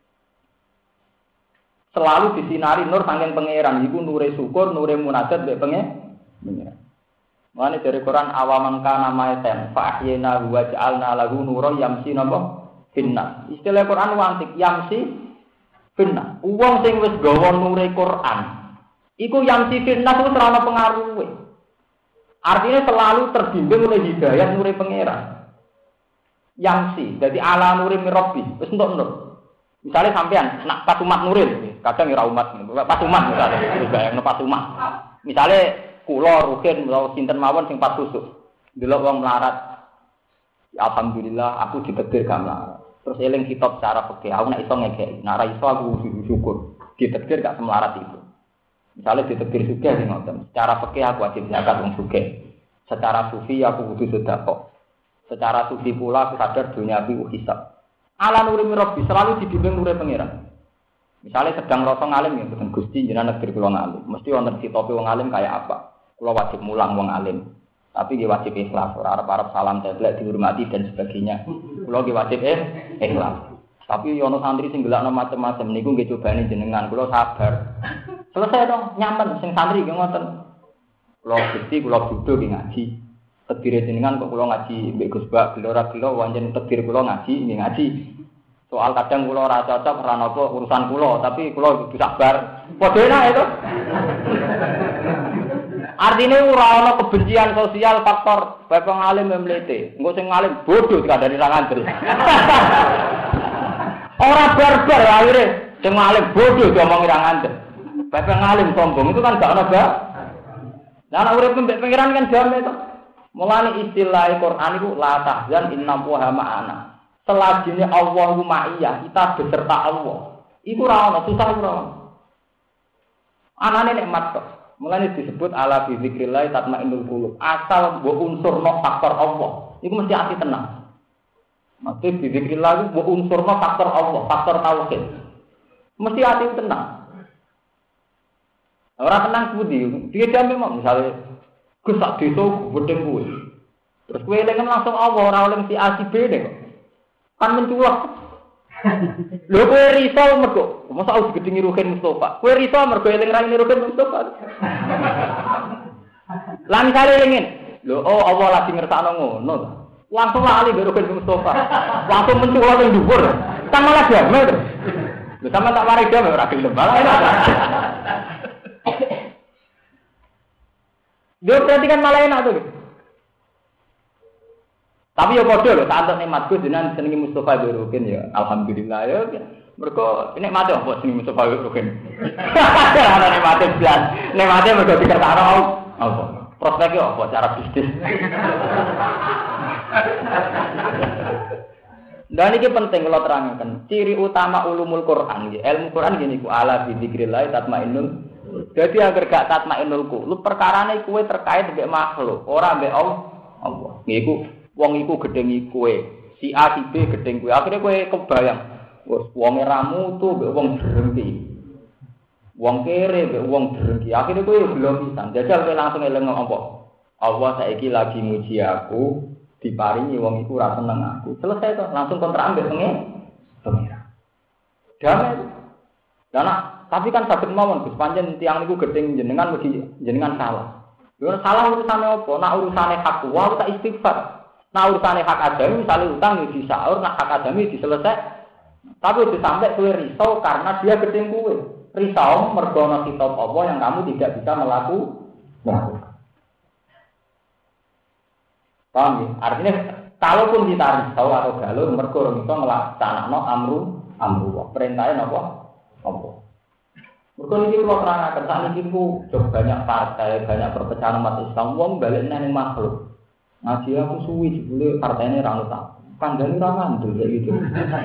Selalu disinari nur saking pangeran iku nure syukur, nure munajat mbek pangeran. Mane dari Quran awaman kana maiten fa ahyina wa ja'alna lahu nuran yamsi napa finnas. Istilah Quran wantik yamsi finnas. Wong sing wis gawa nure Quran iku yamsi finnas wis ora ana pengaruhe. Artinya selalu terbimbing oleh hidayah nure pangeran. Yamsi, jadi ala nuri mirabbi, wis entuk nur. Misalnya sampean nak pas umat nuril, kadang ora umat, pas umat misalnya, bayangno pas umat. Misalnya kula rugen utawa sinten mawon sing pas susuk. Delok wong melarat. Ya, alhamdulillah aku ditakdir gak melarat. Terus eling kitab cara fikih, aku nek iso ngekeki. Nek ora iso aku syukur. Ditakdir gak semelarat itu. Misalnya ditakdir sugih sing ngoten. Secara fikih aku wajib zakat wong sugih. Secara sufi aku kudu sedekah. Secara sufi pula aku sadar dunia iki hisab. Ala nuri mirabbi selalu dibimbing nure pangeran. Misalnya sedang rasa ngalim ya boten Gusti jenengan negeri kula ngalim. Mesti wonten sitope wong alim kaya apa? Kula wajib mulang wong alim. Tapi nggih wajib ikhlas, ora arep-arep salam teblek dihormati dan sebagainya. Kula nggih wajib eh ikhlas. Tapi ono santri sing gelakno macam-macam niku nggih cobane jenengan, kula sabar. Selesai dong, nyaman sing santri nggih ngoten. Kula Gusti kula bodho nggih ngaji. Tedire jenengan kok kula ngaji mbek Gus Bak, gelora gelo wancen tedir kula ngaji nggih ngaji. Soal kadang kula ora cocok ora napa urusan kula, tapi kula kudu sabar. Padha enak itu. Artinya ora ana kebencian sosial faktor bae ngalim mlete. Engko sing ngalim bodho dikandani ra ngandel. Ora barbar akhire sing ngalim bodho diomongi ra ngandel. Bae ngalim sombong itu kan gak ana ba. Lah nek urip mbek pengiran kan jame to. Mulane istilah Quran iku la tahzan inna Allaha ma'ana. Selajine Allahu ma'iyah, kita beserta Allah. Iku ora ana susah ora. Anane nikmat kok. Mulane disebut ala bi zikrillah tatmainnul qulub. Asal mbok unsurno faktor Allah, iku mesti ati tenang. Mesti bi zikrillah mbok unsurno faktor Allah, faktor tauhid. Mesti ati tenang. Ora tenang kuwi, dia jame mok misale Gus sak desa gedeng kuwi. Terus kowe eling langsung Allah ora oleh si A si B nek. Kan menculak. Lho kowe riso mergo, mosok aku digedingi Ruhin Mustofa. Kowe riso mergo eling raine Ruhin Mustofa. Lan kali elingin. Lho oh Allah lagi ngersakno ngono. Langsung lali karo Ruhin Mustofa. Langsung menculak ning dhuwur. Kan malah damai to. Lho sampe tak mari damai ora gelem malah enak. Dia berarti kan malah enak tuh. Tapi ya padha lho, tak antuk nikmat Gus jenengan senengi Mustofa Ruhin ya. Alhamdulillah ya. Mergo nikmate apa senengi Mustofa Ruhin. Ana nikmate blas. Nikmate mergo dikersakno apa? Prospeknya apa cara bisnis. Dan ini penting kalau terangkan. Ciri utama ulumul Quran, ilmu Quran gini ku ala bi dzikrillah tatmainnul. Jadi agar gak tatmainnul qulub, perkarane kuwe terkait mbek makhluk, ora mbek Allah. Ngiku wong iku gedhengi kowe, si A si B gedheng kowe. Akhire kowe kebayang, wes wonge ramu tuh mbek wong drengki. Wong kere mbek wong drengki. Akhire kowe belum pisan. Jajal kowe langsung eling apa? Allah saiki lagi muji aku, diparingi wong iku ora seneng aku. Selesai to, langsung kontrak ambek pengen. Pengira. Damai. Dan tapi kan saged mawon Gus pancen tiyang niku gedeng jenengan mugi jenengan salah. Lha salah urusane apa? Nak urusane hak wa tak istighfar. Nah urusane hak adami misalnya utang ya disaur, nah hak adami diselesai. Tapi udah sampai kowe risau karena dia gedeng kowe. Risau mergo ana kitab apa yang kamu tidak bisa melakukan. Paham ya? Artinya kalaupun kita risau atau galau mergo ora iso nglaksanakno amru amru. Perintahnya napa? Apa? Mergo niki kula terangaken sakniki ku banyak partai, banyak perpecahan umat Islam wong balik nang makhluk. Ngaji aku suwi jebule partene ra ono tak. Kandhane ra ngandel kaya gitu.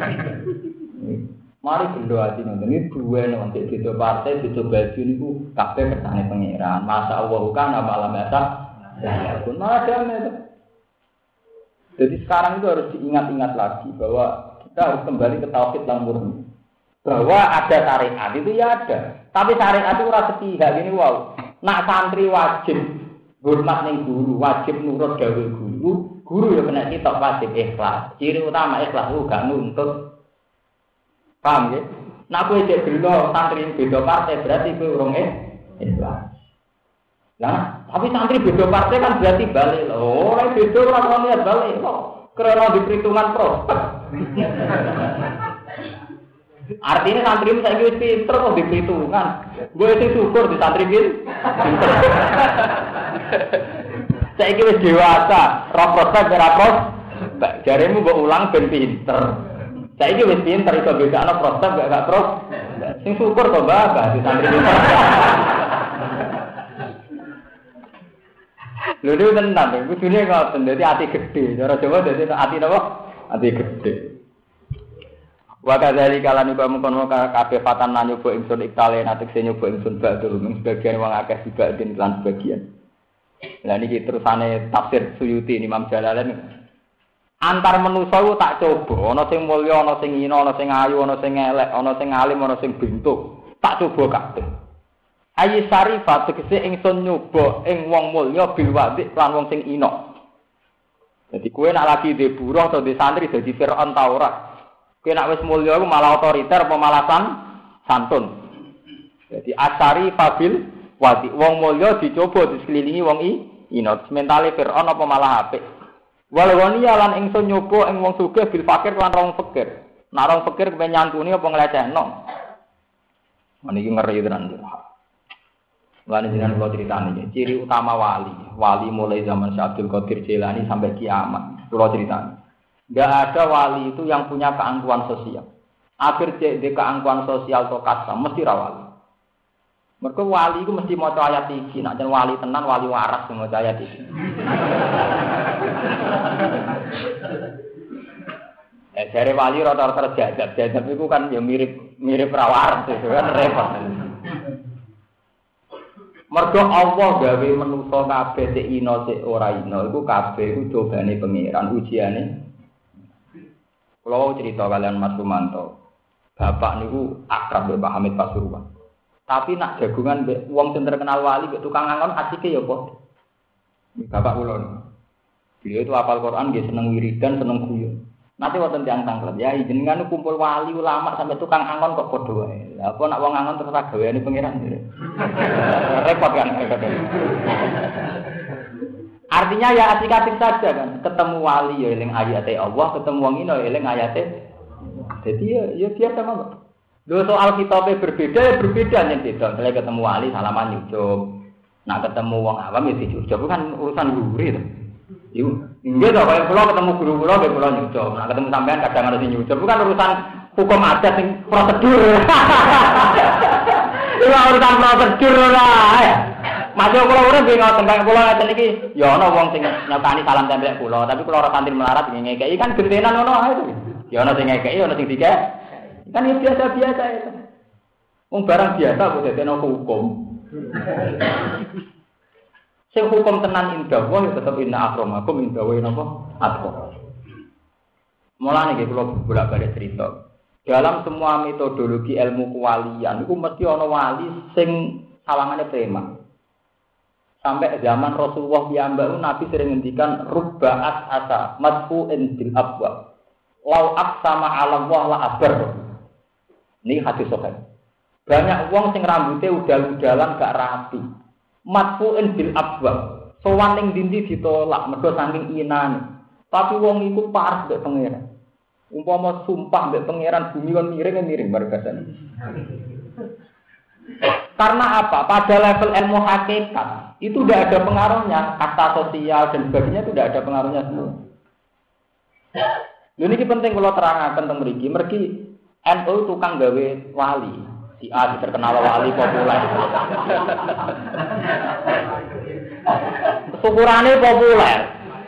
Mari gendho ati ngoten iki duwe nanti beda partai, beda baju niku kabeh kersane pangeran. Masa Allah kan malam biasa. Ya pun malah damai itu. Jadi sekarang itu harus diingat-ingat lagi bahwa kita harus kembali ke tauhid yang murni. Bahwa ada syariat itu ya ada. Tapi syariat itu ora sepihak gini wow. Nak santri wajib hormat ning guru, wajib nurut dawuh guru. Guru ya kena kitab wajib ikhlas. Ciri utama ikhlas ku gak nuntut. Paham ya? Nak kowe cek gelo santri beda partai berarti kowe urung ikhlas. Lah, tapi santri beda partai kan berarti balik. Oh, ora beda ora ono niat balik kok. Karena di perhitungan prospek. Artinya santri saya wis pinter kok di perhitungan. Gue sing syukur di santri iki. Saiki wis dewasa, roh prospek ora prospek. Jaremu mbok ulang ben pinter. Saiki wis pinter iso bedakno prospek gak prospek. Sing syukur kok Mbak di santri iki. Lho niku tenan, kudune ngoten dadi ati gedhe. Cara Jawa dadi ati napa? Ati gedhe. Wa kadzali kalane kok mengkon kabeh fatan lan nyoba ingsun iktale natekse nyoba ingsun badul mung sebagian wong akeh dibanding lan sebagian. Lah niki terusane tafsir Suyuti Imam Jalalain. Antar manusa ku tak coba, ana sing mulya, ana sing hina, ana sing ayu, ana sing elek, ana sing alim, ana sing bentuk. Tak coba kabeh. Ayi sarifat tegese ingsun nyoba ing wong mulya bil wadik lan wong sing hina. Dadi kowe nak lagi dhe buruh atau dhe santri dadi Firaun ta ora? Kowe nek wis mulya iku malah otoriter apa malah santun. Jadi asari fabil wati wong mulya dicoba disekelilingi wong i ino mentale Firaun apa malah apik. Walawani lan ingsun nyoba ing wong sugih bil fakir lan wong fakir. Nek wong fakir kepen nyantuni apa nglecehno. Meniki ngeri tenan. Lan jenengan kula critani ciri utama wali. Wali mulai zaman Syekh Abdul Qadir Jailani sampai kiamat. Kula critani. Enggak ada wali itu yang punya keangkuhan sosial. Akhir cek de keangkuhan sosial to kasa mesti ra wali. Mergo wali iku mesti maca ayat iki, nek jan wali tenan wali waras maca ayat iki. Eh jare wali rata-rata jajab, jajab iku kan ya mirip mirip ra waras itu kan repot. Mergo Allah gawe manusa kabeh sik ino sik ora ino iku kabeh iku cobane pangeran ujiane. Kalau cerita kalian Mas Rumanto, bapak niku akrab mbek Pak Hamid Pasuruan. Tapi nak jagungan mbek wong sing terkenal wali mbek tukang angon asike ya apa? Bapak kula. Beliau itu hafal Quran, dia seneng wiridan, seneng guyon. Nanti wonten tiyang tanglet, ya jenengan kumpul wali ulama sampai tukang angon kok padha wae. Lah apa nak wong angon terus gaweane pangeran. Repot kan. Artinya ya asik-asik saja kan. Ketemu wali ya eling ayate Allah, ketemu wong ino eling ayate. Jadi ya ya biasa mawon. Lho soal kitabe berbeda ya berbeda yen beda. Kalau ketemu wali salaman nyucup. Nak ketemu wong awam ya dicucup kan urusan guri to. Iku nggih to kaya kula ketemu guru kula nggih kula nyucup. Nak ketemu sampean kadang harus nyucup. Bukan urusan hukum adat sing prosedur. Itu urusan prosedur lah. Masuk kula urip nggih ngoten kaya kula ngeten iki ya ana wong sing nyokani salam tempel kula, tapi kula ora santri melarat ngekeki kan gentenan ngono ae to. Ya ana sing ngekeki ana sing dikek. Kan ya biasa-biasa itu. Wong barang biasa kok dadekno hukum. Sing hukum tenan indah wae tetep inna akramakum inda wa napa atqa. Mulane nggih kula bolak-balik cerita. Dalam semua metodologi ilmu kewalian iku mesti ana wali sing sawangane preman. Sampai zaman Rasulullah piyambak Nabi sering ngendikan rubba'at asa madfu'in bil abwa. Lau aqsama 'ala Allah la abar. Ini hadis sahih. Banyak wong sing rambutnya udal-udalan gak rapi. Madfu'in bil abwa. Sowan ning dindi ditolak mergo saking inane. Tapi wong iku parah mbek pangeran. Umpama sumpah mbek pangeran bumi kon miring-miring bargasane. Karena apa? Pada level ilmu hakikat itu tidak ada pengaruhnya, kata sosial dan sebagainya itu tidak ada pengaruhnya semua. Ini penting kalau terangkan tentang mereka. Mereka N U tukang gawe wali, si A terkenal wali populer. Syukurane populer.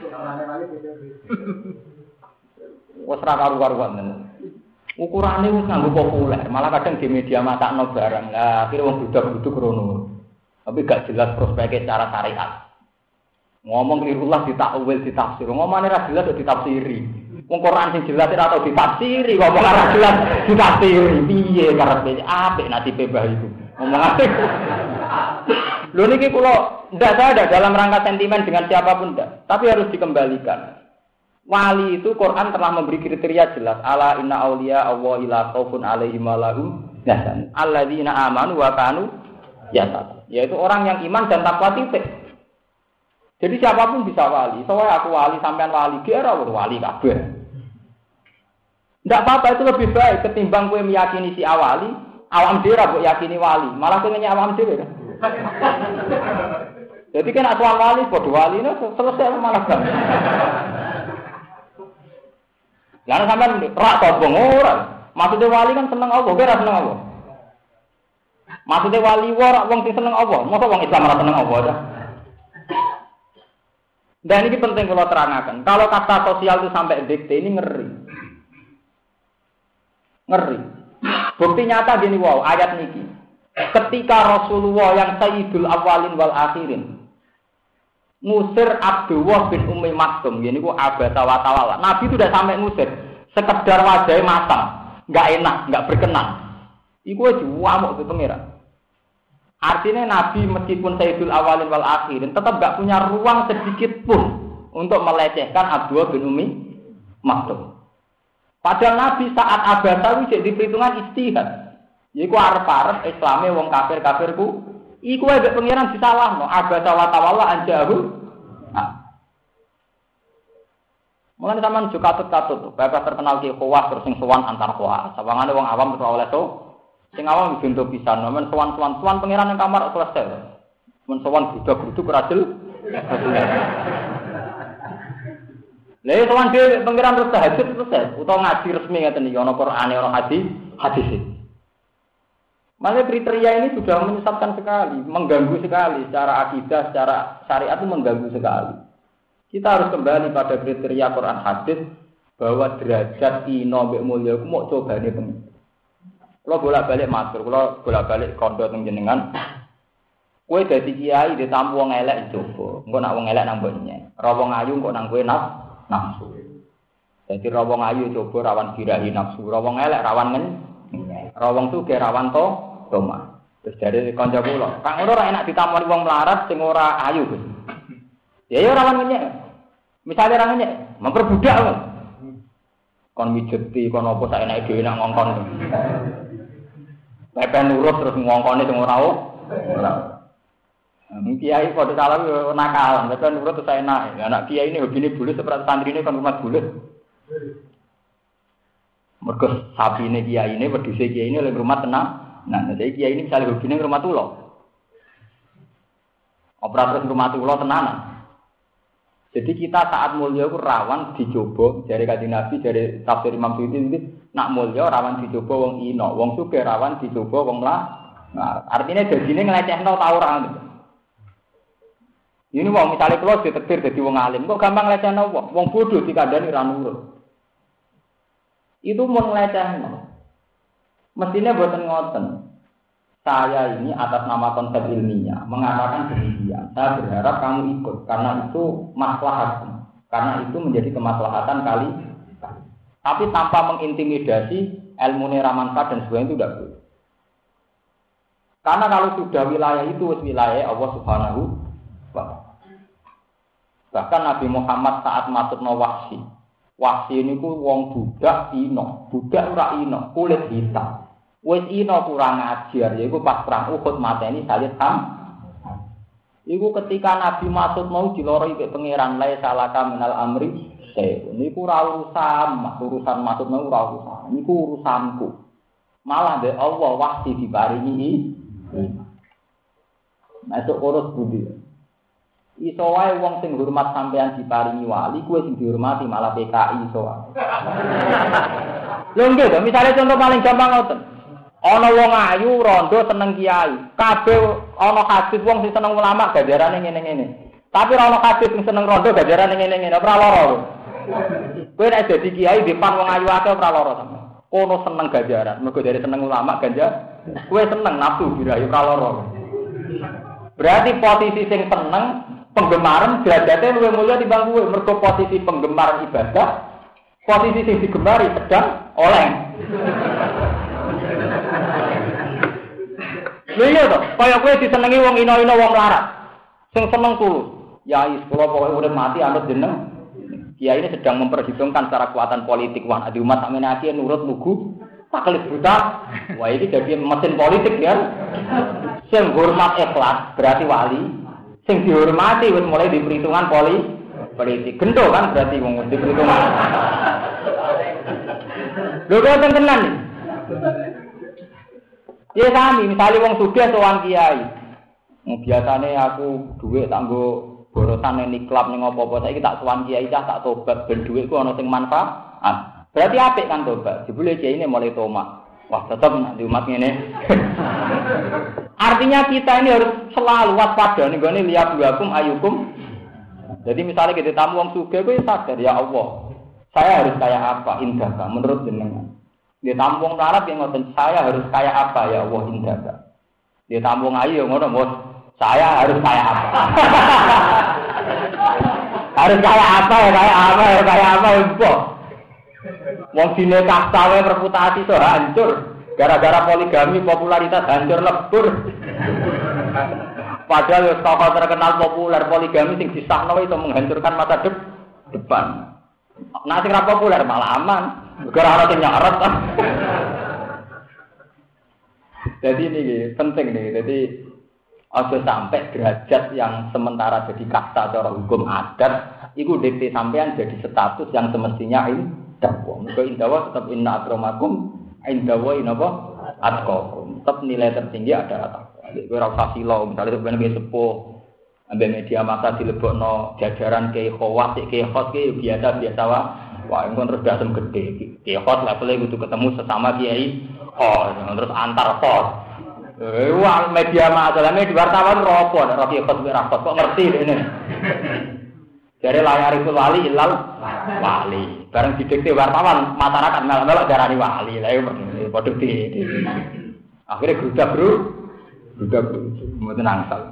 Wes ra karu-karuan tenan. Ukurane wis nganggo populer, malah kadang di media matakno barang. Lah akhire wong budak-buduk rono. Tapi gak jelas prospeknya secara syariat. Ngomong kirullah ditakwil, ditafsir. Ngomongane ra jelas kok ditafsiri. Wong Quran sing jelas ora tau ditafsiri, ngomong ora jelas ditafsiri. Piye karepe apik nasibe mbah iku. Ngomongane. Lho niki kula ndak ada dalam rangka sentimen dengan siapapun ndak, tapi harus dikembalikan. Wali itu Quran telah memberi kriteria jelas. Ala inna auliya Allah ila khaufun alaihim wa lahum yahzanun. Alladzina amanu wa kanu yattaqun. Yaitu orang yang iman dan takwa titik. Jadi siapapun bisa wali. Soalnya aku wali, sampean wali, kira wali kabeh. Ndak apa-apa, itu lebih baik ketimbang kowe meyakini si awali, awam dhewe kok yakini wali. Malah kowe nanya awam dhewe kan. Jadi kan asal wali padha waline selesai malah gak. Lah sampean rak sombong ora. Maksudnya wali kan seneng Allah, kowe ora seneng Allah. Maksudnya wali ora wong sing seneng Allah, mosok wong Islam ora seneng Allah ta. Dan ini penting kalau terangkan. Kalau kata sosial itu sampai dikte ini ngeri. Ngeri. Bukti nyata gini wow, ayat niki. Ketika Rasulullah yang Sayyidul Awwalin wal Akhirin ngusir Abdullah bin Ummi Maktum, gini ku abata wa tawala. Nabi itu udah sampai ngusir, sekedar wajahnya matang, nggak enak, nggak berkenan. Iku aja wamuk ke pengira. Artinya Nabi meskipun Sayyidul Awwalin wal Akhirin tetap nggak punya ruang sedikit pun untuk melecehkan Abdullah bin Ummi Maktum. Padahal Nabi saat abasa wis di perhitungan istihad. Iku arep-arep Islame wong kafir-kafirku, iku wae mek pangeran disalahno, abasa wa tawalla anjahu. Nah. Mulane sampean jo katut-katut, bapak terkenal ki khawas terus sing sowan antar khawas. Sawangane wong awam terus oleh to. Sing awam bintu pisan, men sowan-sowan sowan pangeran nang kamar selesai. Men sowan budak-buduk rajel. Lha sowan dhewe pangeran terus tahajud selesai, utawa ngaji resmi ngeten iki ana Qur'ane ana hadis, hadis. Malah kriteria ini sudah menyesatkan sekali, mengganggu sekali secara akidah, secara syariat itu mengganggu sekali. Kita harus kembali pada kriteria Quran hadis bahwa derajat ino mbek mulya ku mok cobane pengen. Kalau bolak-balik matur, kalau bolak-balik kondo teng jenengan, kowe dadi kiai ditampu wong elek coba. Engko nak wong elek nang mboknya. Ra wong ayu engko nang kowe naf nafsu. Dadi ra wong ayu coba rawan dirahi nafsu, ra wong elek rawan ngen. Ra wong sugih rawan to Toma. Terus dari kanca kula, Kang ora enak ditamoni wong melarat sing ora ayu, Gus. Ya ya ora ngenyek. Misale ora ngenyek, memperbudak kok. Kon mijeti kon apa sak enake dhewe nak ngongkon. Pepe nurut terus ngongkone sing ora ora. Nek kiai padha salah yo nakal, pepe nurut terus enake. Anak kiai ini hobine bulet seperti santrine kon rumah bulet. Mergo sapine kiai ini wedhuse kiai ini lek rumah tenang. Nah, jadi kiai ini misalnya hubungan ke rumah tulo, operator rumah tulo tenanan. Jadi kita saat mulia itu rawan dicoba dari Kanjeng Nabi, dari tafsir Imam Suyuti itu nak mulia rawan dicoba wong ino, wong sugih rawan dicoba wong lah. Nah, artinya dadine nglecehno ta ora gitu. Ini wong misalnya kula ditektir dadi wong alim, kok gampang nglecehno wong, wong bodoh dikandani ra nurut. Itu mun nglecehno. Mestinya buatan ngoten. Saya ini atas nama konsep ilmiah mengatakan demikian. Saya berharap kamu ikut karena itu maslahat, karena itu menjadi kemaslahatan kali. Tapi tanpa mengintimidasi ilmu neramanfaat dan sebagainya itu tidak boleh. Karena kalau sudah wilayah itu wilayah Allah Subhanahu wa taala. Bahkan Nabi Muhammad saat masuk Wahsy, Wahsy ini ku wong budak ino, budak ora ino, kulit hitam. Wis ino kurang ajar, yaiku pas perang Uhud mateni Salih Ham. Iku ketika Nabi masuk mau diloroi ke pangeran lae salaka minal amri, saya niku ora urusan, urusan masuk mau ora urusan. Niku urusanku. Malah be Allah Wahsy diparingi. Masuk urus budi. Iso wae wong sing hormat sampean diparingi wali, kuwi sing dihormati malah P K I iso wae. Lho nggih to, misale contoh paling gampang ngoten. Ana wong ayu rondo seneng kiai. Kabeh ana hadis wong sing seneng ulama ganjarane ngene-ngene. Tapi ora ana hadis sing seneng rondo ganjarane ngene-ngene, ora lara. Kowe nek dadi kiai depan wong ayu akeh ora lara sampe. Kono seneng ganjaran, mergo dari seneng ulama ganjar. Kowe seneng nafsu birahi ora lara. Berarti posisi sing seneng penggemaran derajate luwih mulya timbang kowe, mergo posisi penggemar ibadah, posisi sing digemari sedang oleh. Lha iya to, kaya kowe disenengi wong ino-ino wong larat. Sing seneng tulus. Yai kula pokoke urip mati anut jeneng. Kiai ini sedang memperhitungkan secara kekuatan politik wah di umat sakmene akeh nurut lugu, taklid buta. Wah ini jadi mesin politik ya. Sing hormat ikhlas berarti wali. Sing dihormati wis mulai di perhitungan poli politik. Gento kan berarti wong di perhitungan. Lho kok tenan iki? Ya sami, misalnya wong sugih sowan kiai. Biasane aku dhuwit tak nggo borosan ning klub ning apa-apa saiki tak sowan kiai cah tak tobat ben dhuwitku ana sing manfaat. Berarti apik kan tobat. Jebule kiai ini mulai tomat. Wah, tetep nek di umat ngene. Artinya kita ini harus selalu waspada ning gone liyabuakum ayukum. Jadi misalnya kita tamu wong sugih kowe sadar ya Allah. Saya harus kayak apa indah menurut jenengan. Dia tampung larat yang ngoten saya harus kayak apa ya Allah indah. Dia tampung ayu ngono bos. Saya harus kayak apa? harus kayak apa ya kayak apa ya kayak apa ya bos. Wong dine kastawe reputasi so hancur gara-gara poligami popularitas hancur lebur. Padahal tokoh terkenal populer poligami sing disahno itu menghancurkan masa depan. Nah sing ra populer malah aman. Ora ana sing nyorot. Jadi ini penting nih. Jadi aja sampai derajat yang sementara jadi kasta cara hukum adat, itu dikti sampean jadi status yang semestinya indah. Mergo indah tetap inna akramakum indawa inapa atqakum. Tetap nilai tertinggi adalah takwa. Kowe ora usah silo, misale sampeyan sepuh ambek media massa dilebokno jajaran kiai khawas, kiai khos ki biasa-biasa wae. Wah, engko terus dasem gede. Kiai khos level kudu ketemu sesama kiai khos, terus antar khos. Eh, wah media massa di wartawan ropo, nek kiai khos ora khos kok ngerti dene. Jare layar itu wali ilal wali. Bareng didikte wartawan masyarakat melok-melok darani wali. Lah yo padha di. Akhire grudak bro. Grudak mboten angsal.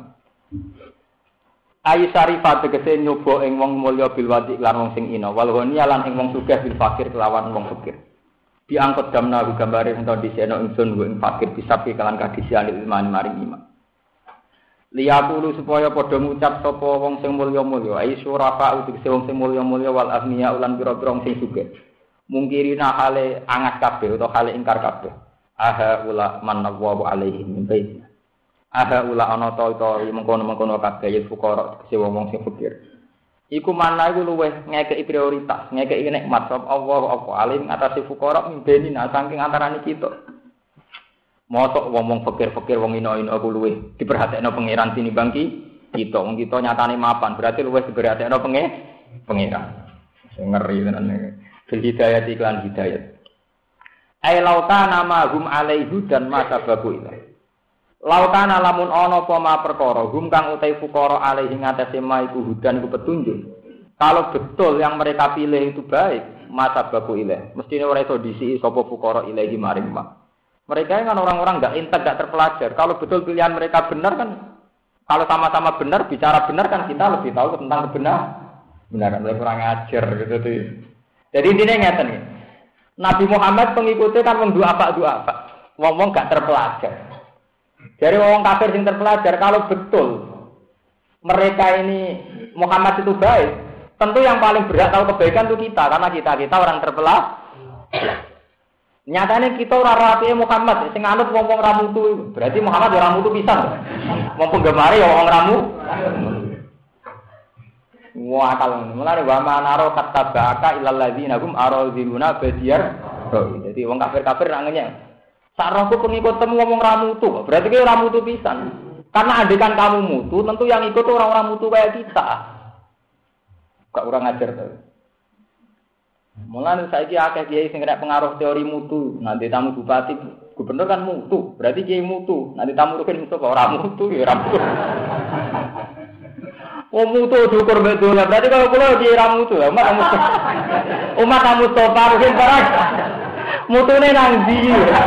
Ayi syarifat tegese nyoba ing wong mulya bil wadi lan wong sing ina. Wal ghani lan ing wong sugih bil fakir kelawan wong fakir. Diangkut damna gambare ento diseno ingsun ing fakir bisapi kalan kadisian ilman maring iman. Liyaqulu supaya padha ngucap sapa wong sing mulya-mulya ai syurafa utek wong sing mulya-mulya wal agniya ulan pira-pira wong sing sugih mungkirina hale angat kabeh utawa hale ingkar kabeh aha ula manallahu alaihi min baiti aha ula ana ta ta mengkono-mengkono kabeh ya fuqara utek wong sing fakir iku mana iku luweh ngekeki prioritas ngekeki nikmat sapa Allah apa alim ngatasi fuqara min baiti nah saking antarané kita. Mosok wong-wong fakir-fakir wong ino-ino aku luwih diperhatekno pangeran tinimbang ki kita wong kita nyatane mapan berarti luwih diperhatekno penge pangeran sing ngeri tenan bil hidayah iklan hidayah ai lautana ma hum alaihi dan ma sababu ila lautana lamun ana apa ma perkara hum kang utai fuqara alaihi ngatasi ma iku hudan iku petunjuk kalau betul yang mereka pilih itu baik ma sababu ila mestine ora iso disiki sapa fuqara ilahi maring ma. Mereka kan orang-orang enggak intek, enggak terpelajar. Kalau betul pilihan mereka benar kan, kalau sama-sama benar, bicara benar kan kita lebih tahu tentang kebenaran. Benar kan, kurang ajar gitu tuh. Jadi intinya ngeten nih. Nabi Muhammad pengikutnya kan wong dua apa dua apa. Wong-wong enggak terpelajar. Jadi wong kafir yang terpelajar kalau betul mereka ini Muhammad itu baik, tentu yang paling berat tahu kebaikan itu kita karena kita kita orang terpelajar. Nyatane kita ora rapihe Muhammad sing anut wong-wong ra mutu. Berarti Muhammad ora mutu pisan. Wong penggemare ya wong ra mutu. Wah kalon mulane wa manaro katabaka ilal ladzina hum araziluna badiyar. Jadi wong kafir-kafir ra ngenyek. Sarahku pengikut temu wong ra mutu. Berarti ki ora mutu pisan. Karena andekan kamu mutu, tentu yang ikut orang-orang mutu kayak kita. Gak kurang ajar to. Mulane saiki akeh kiai sing kena pengaruh teori mutu. Nanti tamu bupati, gubernur kan mutu. Berarti kiai mutu. Nanti tamu rukin mutu kok ora mutu ya ora mutu. Oh mutu diukur betul. Berarti kalau kula kiai ra mutu, umat kamu umat kamu topa rukin barang. Mutune nang ndi?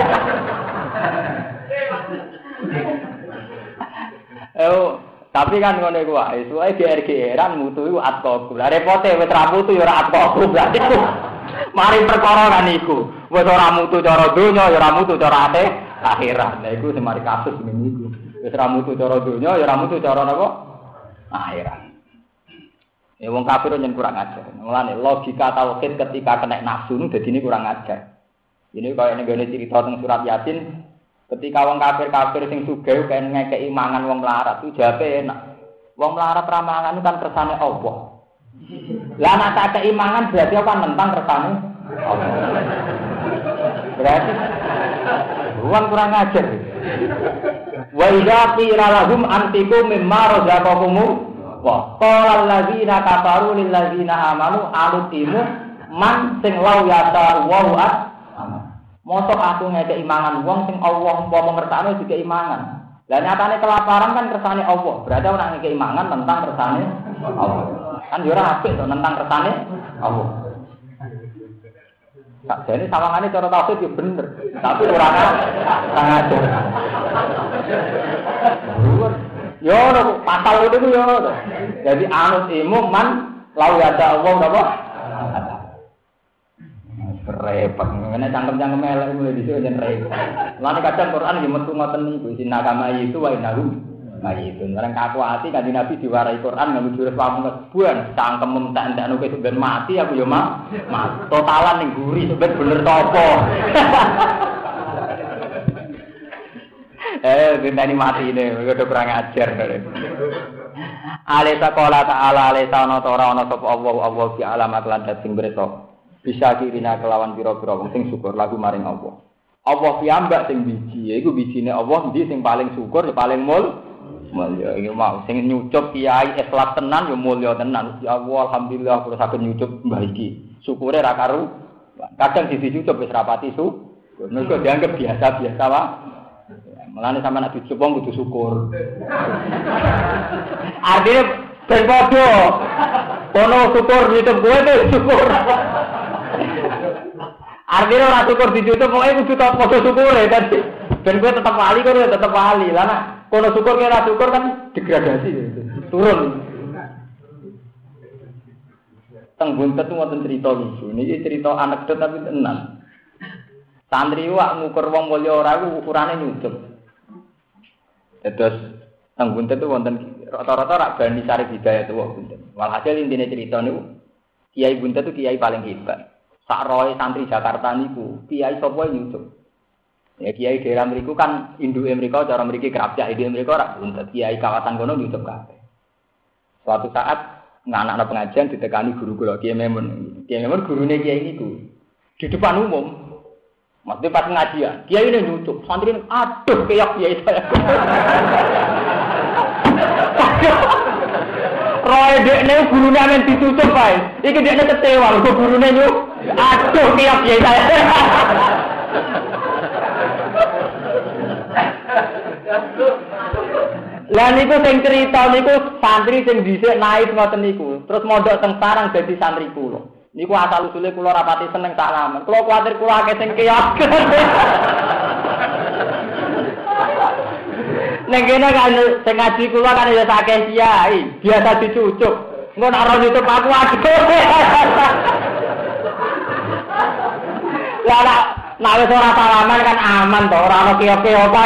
Eh tapi kan ngono iku wae, suwe G R G R-an mutu iku atkoku. Lah repote wis ra mutu ya ora atkoku berarti. Mari perkara kan iku. Wis ora mutu cara donya ya ora mutu cara ate akhirat. Lah iku sing mari kasus ngene iku. Wis ra mutu cara donya ya ora mutu cara napa? Akhirat. Ya wong kafir nyen kurang ajar. Mulane logika tauhid ketika kena nafsu nu dadine kurang ajar. Ini kaya ngene cerita teng surat Yasin. Ketika wong kafir-kafir sing sugih pengen ngekeki mangan wong melarat itu jawabe enak. Wong melarat ra mangan kan kersane Allah. Lah nek tak kei mangan berarti apa nentang kersane Allah. Berarti wong kurang ajar. Wa idza qila lahum antiqu mimma razaqakum wa qala allazina kafaru lil ladzina amanu alutimu man sing law yata wa at mosok aku ngekeki mangan wong sing Allah umpama ngersane dikeki mangan. Lah nyatane kelaparan kan kersane Allah. Berarti ora ngekeki mangan tentang kersane Allah. Kan yo ora apik to tentang kersane Allah. Tak jane sawangane cara tauhid yo bener, tapi ora ora ngajar. Yo ora pasal itu yo. Jadi anut ilmu man lau ya Allah napa? Repot, ngene cangkem-cangkem elek mulai dhisik yen repot. Lan kadang Quran yo metu ngoten niku, sinakama itu wa inahu Nah itu, orang kaku hati kan di Nabi diwarai Quran nggak jurus pamungkas buan, cangkem tak tak nuke sebenarnya mati aku ya mak, mak totalan nih gurih sebenarnya bener topo. Eh, benda ini mati ini, udah kurang ajar. Alisa kola ta'ala alisa ono tora ono sop Allah Allah bi alamat landat sing berita. Bisa kirina kelawan pira-pira wong sing syukur lagu maring Allah. Allah piyambak sing biji, iku bijine Allah ndi sing paling syukur, paling mul. Mulya iki mau sing nyucup kiai ikhlas tenan ya mulya tenan. Ya Allah alhamdulillah kula saged nyucup mbah iki. Syukure ra karu. Kadang sisi nyucup wis rapati su. Mergo dianggap biasa-biasa wae. Mulane sampeyan nek dicucup wong kudu syukur. Artine ben padha. Kono syukur nyucup kowe te syukur. Artine ora syukur dicucup pokoke kudu padha syukure dadi ben kowe tetep wali kowe tetep wali. Lah nek kono syukur kira syukur kan degradasi gitu. Turun. Teng buntet wonten crita lucu. Niki crita anekdot tapi tenan. Santri wak ngukur wong mulya ora iku ukurane nyucup. Terus teng buntet wonten rata-rata rak bani sari hidayah tuwa buntet. Walhasil intine crita niku Kiai buntet itu kiai paling hebat. Sak roe santri Jakarta niku kiai sapa nyucup. Ya kiai daerah mriku kan induke mriku cara mriki kerapjak induke mriku ora buntet. Kiai kawasan kono nyucup kabeh. Suatu saat nganak-anak pengajian ditekani guru kula Kiai Memun. Kiai Memun gurune kiai niku di depan umum. Maksudnya pas pengajian, kiai ini nyucup, santri aduh keyak kiai saya. Roy dekne gurune amen ditutup bae. Iki dekne kecewa kok gurune nyucup. Aduh keyak kiai saya. Lah niku sing crita niku santri sing dhisik naik ngoten niku. Terus mondok teng sarang dadi santri kula. Niku asal usule kula rapati seneng salaman. Kula kuwatir kula akeh sing keyak. Nek kene kan sing ngaji kula kan ya akeh kiai, biasa dicucuk. Engko nek ora nyucup aku aduh. Lah nek wis ora salaman kan aman to, ora ono keok-keokan.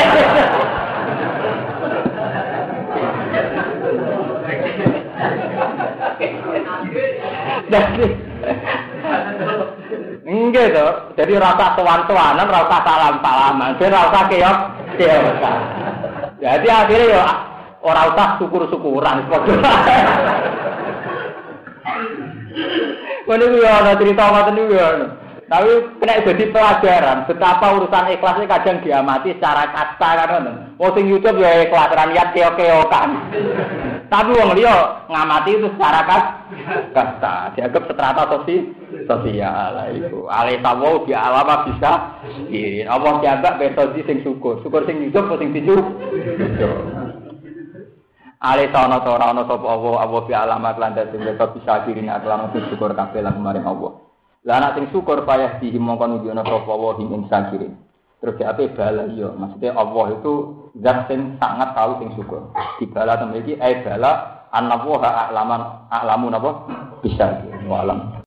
Jadi enggak toh, jadi rasa tuan-tuanan, rasa salam-salaman, jadi rasa keok, keokan. Jadi akhirnya ya orang usah syukur-syukuran. Mana gue ada cerita macam itu ya. Tapi kena jadi pelajaran betapa urusan ikhlasnya kadang diamati secara kasta kan. Wong sing YouTube ya ikhlas ra niat keok-keokan. Tapi wong liya ngamati itu secara kasta, dianggap strata sosial. Sosial itu. Ale sawo bi alama bisa. Iki apa dianggap metode sing syukur. Syukur sing YouTube sing dicup. Ale sono to ora ono sapa Allah, Allah bi alamat lan dadi bisa dirina lan syukur kabeh lan maring Allah. Lah anak sing syukur payah di mongko nunjukno sapa wa him sakirin. Terus ape bala iya, maksudnya Allah itu zat sing sangat tahu sing syukur. Di bala temriki ai bala annahu a'laman a'lamu napa bisa. Wa alam.